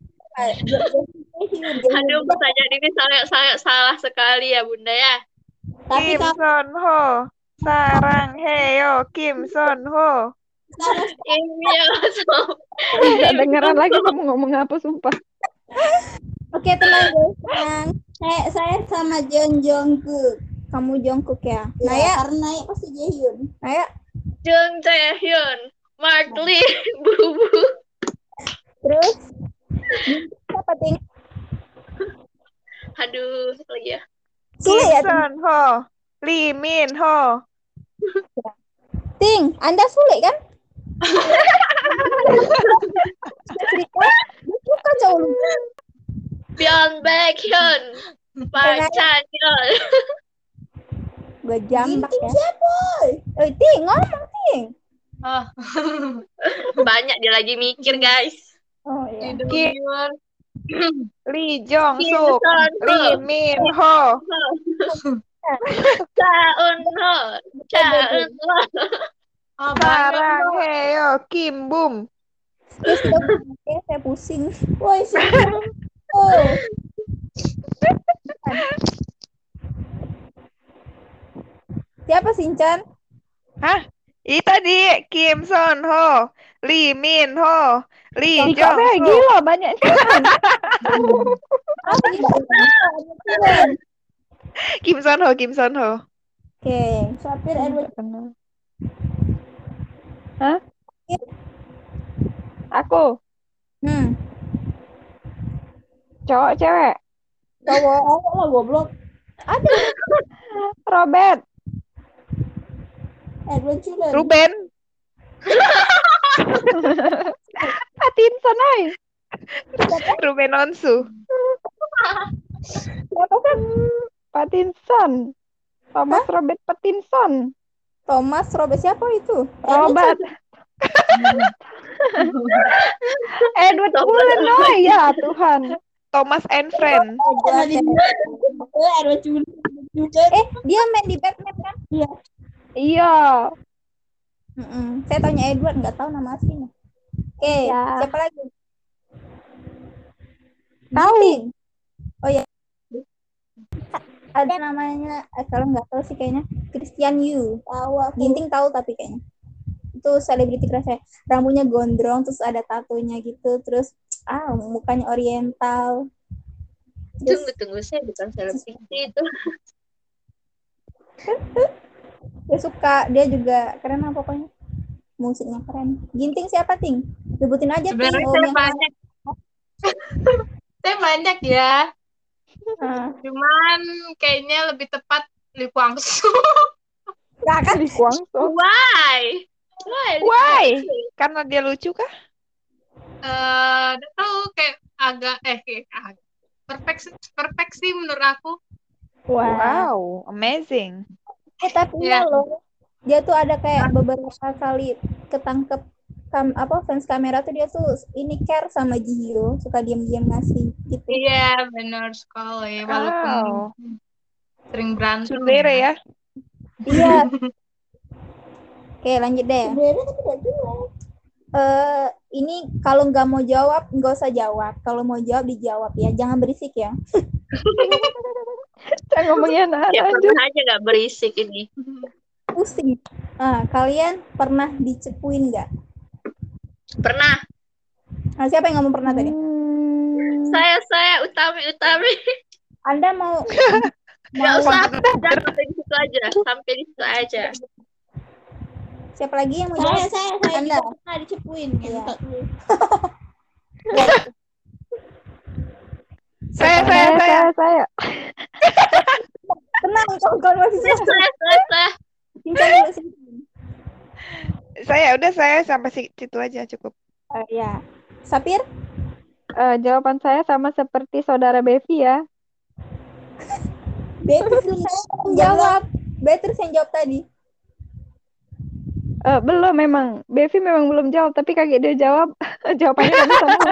Aduh, pertanyaan ini sangat salah sekali ya, Bunda ya. Tapi Kim Son Ho. Sarang Heo Kim Son Ho. Iya, Nggak dengeran lagi kamu ngomong apa, sumpah. Oke, tenang guys, tenang. Saya sama Jungkook. Kamu Jungkook ya? Naya? Karena Naya pasti Jaehyun. Naya? Jung Jaehyun, Mark Lee, Bubu. Terus? Siapa ting? Aduh, apa lagi ya? Sulit ya, Kim Son Ho. Lee Min Ho. Ting, Anda sulit kan? Cerita, dia suka cowok lu. Byeon Baekhyun, Park Chan-yeol. Gue jambak ya. Siapa? Ting, ngomong Ting. Oh. Banyak dia lagi mikir, guys. Oh iya. Lee Jong Suk. Lee Min Ho. Cha Eun Ho, Cha Eun Ho. Sarang Heo Kim Bum. Terus saya pusing. Woi, siapa? Oh. Siapa Sinchan? Hah? Ini tadi Kim Son Ho, Lee Min Ho, Lee Jong Sampai Suk. gila banyaknya. Kim Son Ho, Kim Son Ho. Oke, Sapir Edward. Hah? Aku cowok cewek. Cowok lah goblok. Ada Robert. Edward Cullen. Ruben. Pattinson ay. Ruben Onsu. Siapa kan? Pattinson. Thomas Robert Pattinson. Thomas Robert siapa itu? Robert. Edward Cullen, oh ya Tuhan. Thomas and Friend. Edward Cullen. Dia main di Batman kan? Iya. Iya. Saya taunya Edward, nggak tahu nama aslinya. Oke, Ya. siapa lagi? Tahu. Oh ya. Ada namanya, kalau nggak tahu sih kayaknya Christian Yu. Tahu aku. Ginting tahu tapi kayaknya. Itu selebriti crush saya. Rambutnya gondrong, terus ada tatonya gitu, terus mukanya oriental. Tunggu, saya bukan selebriti itu. Dia suka, dia juga keren lah pokoknya. Musiknya keren. Ginting siapa, Ting? Sebutin aja, Ting. Sebenarnya Om saya yang banyak. Saya banyak ya. Cuman kayaknya lebih tepat Lee Kwang Soo. Gak kan? Di Guangzhou. Why? Why? Karena dia lucu kah? Udah tahu kayak perfect sih menurut aku. Wow, amazing. Tapi Ya. ya loh, dia tuh ada kayak beberapa kali ketangkep fans kamera tuh dia tuh ini care sama Jihyo, suka diam-diam ngasih gitu. Iya, benar sekali. Walaupun sering berantem. Tsundere ya. Iya. Oke, lanjut deh. Ini kalau nggak mau jawab, nggak usah jawab. Kalau mau jawab, dijawab ya. Jangan berisik ya. Jangan ngomongin Ya anak-anak. pernah aja nggak berisik ini. Pusing. Kalian pernah dicepuin nggak? Pernah. Nah, siapa yang ngomong pernah tadi? Saya Utami. Anda mau Nggak usah, udah sampai di situ aja. Siapa lagi yang mau jawab? Saya Anda. juga pernah dicepuin. Iya. Saya. Tenang, kawan-kawan masih Saya. Saya sampai situ aja cukup. Ya. Sapir? Jawaban saya sama seperti saudara Bevi ya. Beatrice yang jawab. Beatrice yang jawab tadi. Belum memang. Bevi memang belum jawab, tapi kaget dia jawab. Jawabannya sama-sama.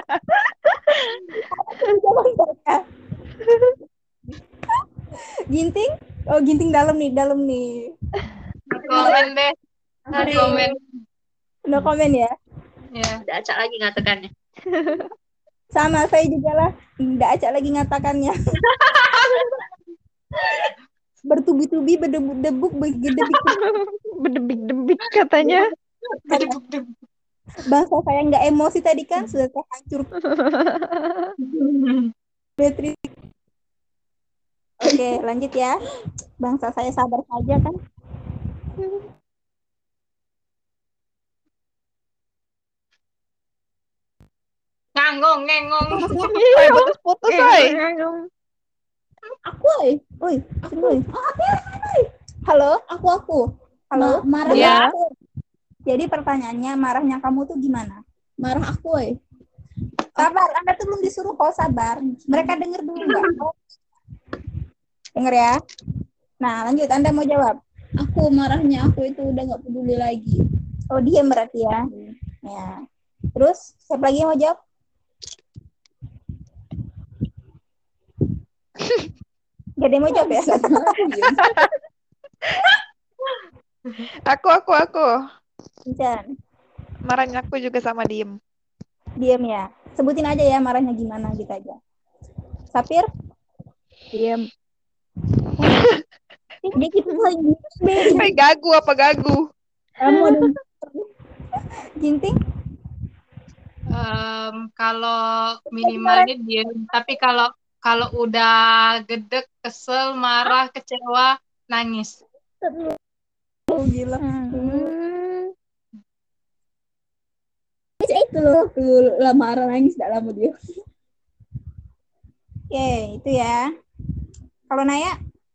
Ginting? Oh, Ginting dalam nih. Komen deh. Komen. No komen ya? Ya. Udah acak lagi ngatakannya. Sama, saya juga lah. Nggak acak lagi ngatakannya. Bertubi-tubi, berdebuk-debuk, Berdebik-debik katanya. Bangsa saya nggak emosi tadi kan, sudah terhancur. Beatrice. Oke, lanjut ya. Bangsa saya sabar saja kan. Ngangong. Putus-putus, woy. Aku, oi. Halo, aku. Halo, marah Ya. aku. Jadi pertanyaannya, marahnya kamu tuh gimana? Marah aku, Sabar, Anda tuh belum disuruh kok, sabar. Mereka denger dulu nggak? Denger ya. Nah, lanjut, Anda mau jawab. Marahnya aku itu udah nggak peduli lagi. Oh, diam berarti ya. Ya. Terus, siapa lagi yang mau jawab? Gak ada yang mau jawab ya? Aku. Jan. Marahnya aku juga sama diem. Diam ya. Sebutin aja ya marahnya gimana gitu aja. Sapir? Diam. Dia gitu paling Gagu apa gagu? Kamu ada Ginting? Kalau minimalnya diem, tapi kalau udah gedek, kesel, marah, kecewa, nangis. Oh, gila. Itu loh, tuh lah marah nangis gak lama dia. Oke, itu ya. Kalau Naya?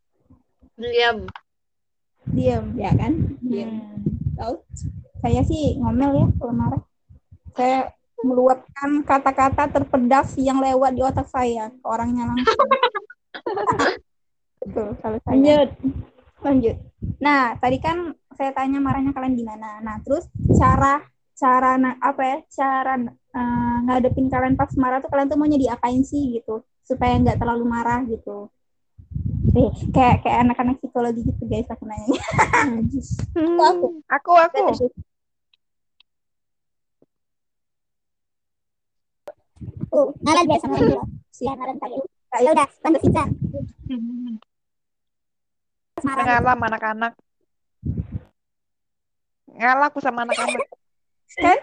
Diam, ya kan? Diam. Tahu? Saya sih ngomel ya kalau marah. Saya meluapkan kata-kata terpedas yang lewat di otak saya ke orangnya langsung. Betul, kalau saya. Lanjut. Nah, tadi kan saya tanya marahnya kalian gimana. Nah, terus cara ngadepin kalian pas marah tuh kalian tuh maunya diapain sih gitu supaya nggak terlalu marah gitu. Kayak anak-anak psikologi gitu guys aku nanya. Aku. Ngalah biasa sama dia. Siaran tadi. Ya udah, tante Vita. Ngalah sama anak-anak. Ngalah aku sama anak-anak. Kan?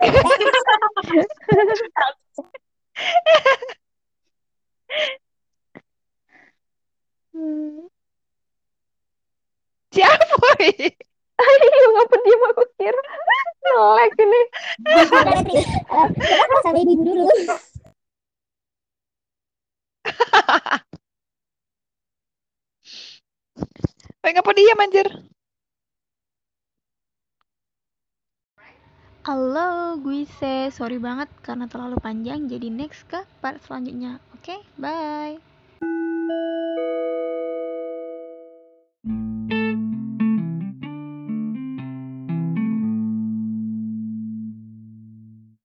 Siapa ini? Ayo ngapa diam, aku kira nge-lag ini. Kita sama ibu dulu. Ngapa diam anjir? Halo, gue sorry banget karena terlalu panjang. Jadi next ke part selanjutnya. Oke, bye.